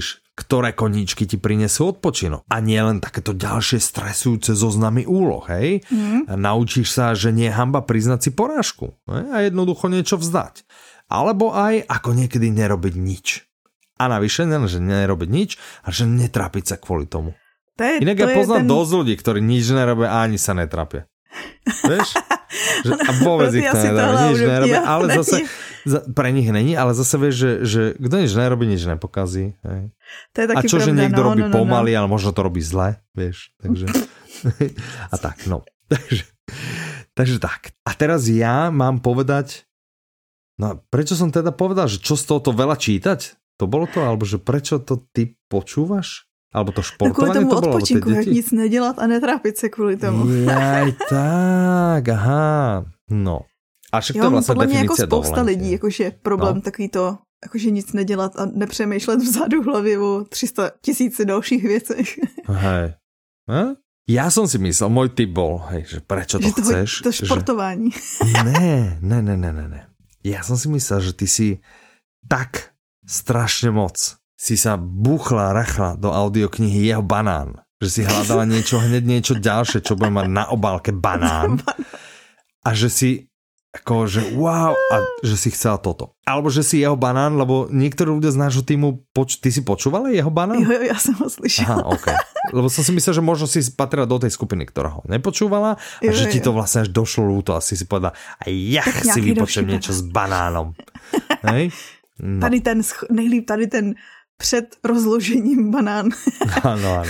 ktoré koníčky ti prinesú odpočinok. A nie len takéto ďalšie stresujúce zoznamy úloh, hej? Naučíš sa, že nie je hanba priznať si porážku, hej? A jednoducho niečo vzdať. Alebo aj ako niekedy nerobiť nič. A navyše, že nerobiť nič, a že netrápiť sa kvôli tomu. Inak ja poznám dosť ľudí, ktorí nič nerobia a ani sa netrápia. Vieš? A vôbec ich to nedáva, nič nerobia, ale zase pre nich není, ale zase vieš, že kto nič nerobí, nič nepokazí. Hej. To je taky a čo, pravda, že niekto robí pomaly, no. ale možno to robí zle, vieš. Takže a tak, no. Takže tak. A teraz ja mám povedať, no prečo som teda povedal, že čo z tohoto veľa čítať? To bolo to? Alebo že prečo to ty počúvaš? Alebo to športovanie to bolo? Odpočinku, jak nic nedělat a netrápit se kvůli tomu. Jaj, tak, aha. No. A však to je vlastně podle mě jako definice spousta dovolenky. lidí, jakože problém takový to, jakože nic nedělat a nepřemýšlet vzadu v hlavě o 300 000 dalších věcech. Hej. Ja som si myslel, môj tip bol, hej, že prečo to chceš? To športování. Že... Ne. Ja som si myslel, že ty si tak strašne moc si sa rachla do audioknihy Jeho banán. Že si hľadala hneď niečo ďalšie, čo bude mať na obálke banán. A že si ako, že wow, a že si chcela toto. Alebo že si Jeho banán, lebo niektorí ľudia z nášho týmu, ty si počúvala Jeho banán? Jo, ja som ho slyšela. Aha, okay. Lebo som si myslel, že možno si patrila do tej skupiny, ktorá ho nepočúvala a že ti to vlastne až došlo ľúto a si povedala, a ja si vypočujem niečo s banánom. Hej? No. Nejlíp tady ten před rozložením banán. Áno.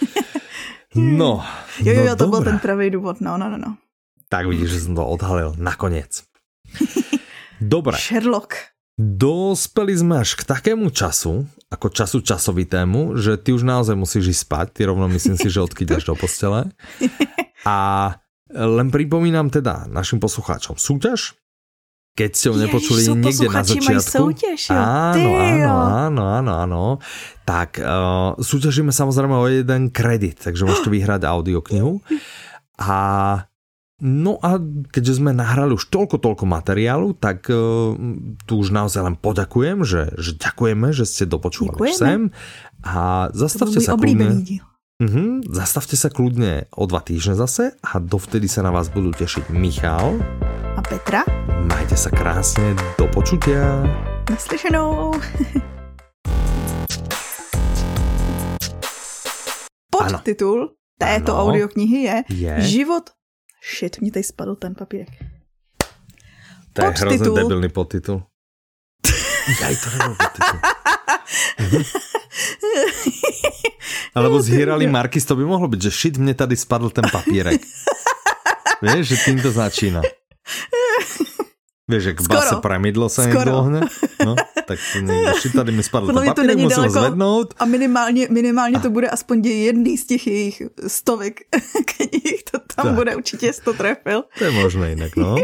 No. Jo, to bol ten pravý důvod, no. Tak vidíš, že som to odhalil nakoniec. Dobre. Sherlock. Dospeli sme až k takému času, ako času časovitému, že ty už naozaj musíš ísť spať. Ty rovno myslím si, že odkyďaš do postele. A len pripomínam teda našim poslucháčom súťaž. Keď ste ho nepočuli niekde na začiatku. Súťaž, áno. Tak súťažíme samozrejme o jeden kredit, takže môžete vyhrať audioknihu. No a keďže sme nahrali už toľko materiálu, tak tu už naozaj len poďakujem, že ďakujeme, že ste dopočúvali sem. A zastavte sa kľudne. Zastavte sa kľudne o 2 týždne zase a dovtedy sa na vás budú tešiť Michal a Petra. Majte sa krásne, do počutia. Naslyšenou. Podtitul této audioknihy je Život. Shit, mě tady spadl ten papírek. To je hrozně debilný podtitul. Jaj, to nebyl podtitul. Alebo zhýrali Markis, to by mohlo byť, že shit, mne tady spadl ten papírek. Vieš, že týmto začína. Vieš, jak v base Premydlo sa niekto ohne? No, tak to niekto, shit, tady mi spadl ten papírek, musím ho zvednout. A minimálně to bude aspoň jedný z těch jejich stovek knih, to tam tak. Bude určitě 100 trefil. To je možné inak, no.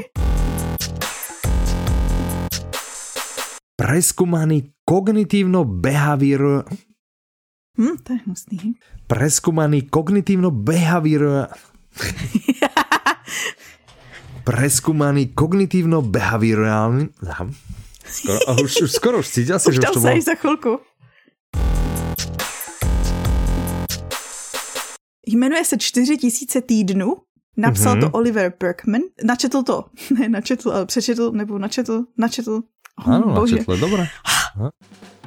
Preskúmaný kognitívno-behavior... to je hnusný. Preskúmaný kognitívno-behavior... Preskúmaný kognitívno-behaviorálny... Skoro už cítil si, že už to bolo... Už tam sa za chvilku. Jmenuje se 4000 týdnů. Napsal to Oliver Burkeman. Načetl to. Ne, načetl, ale přečetl, nebo načetl. Áno, načetl, dobré.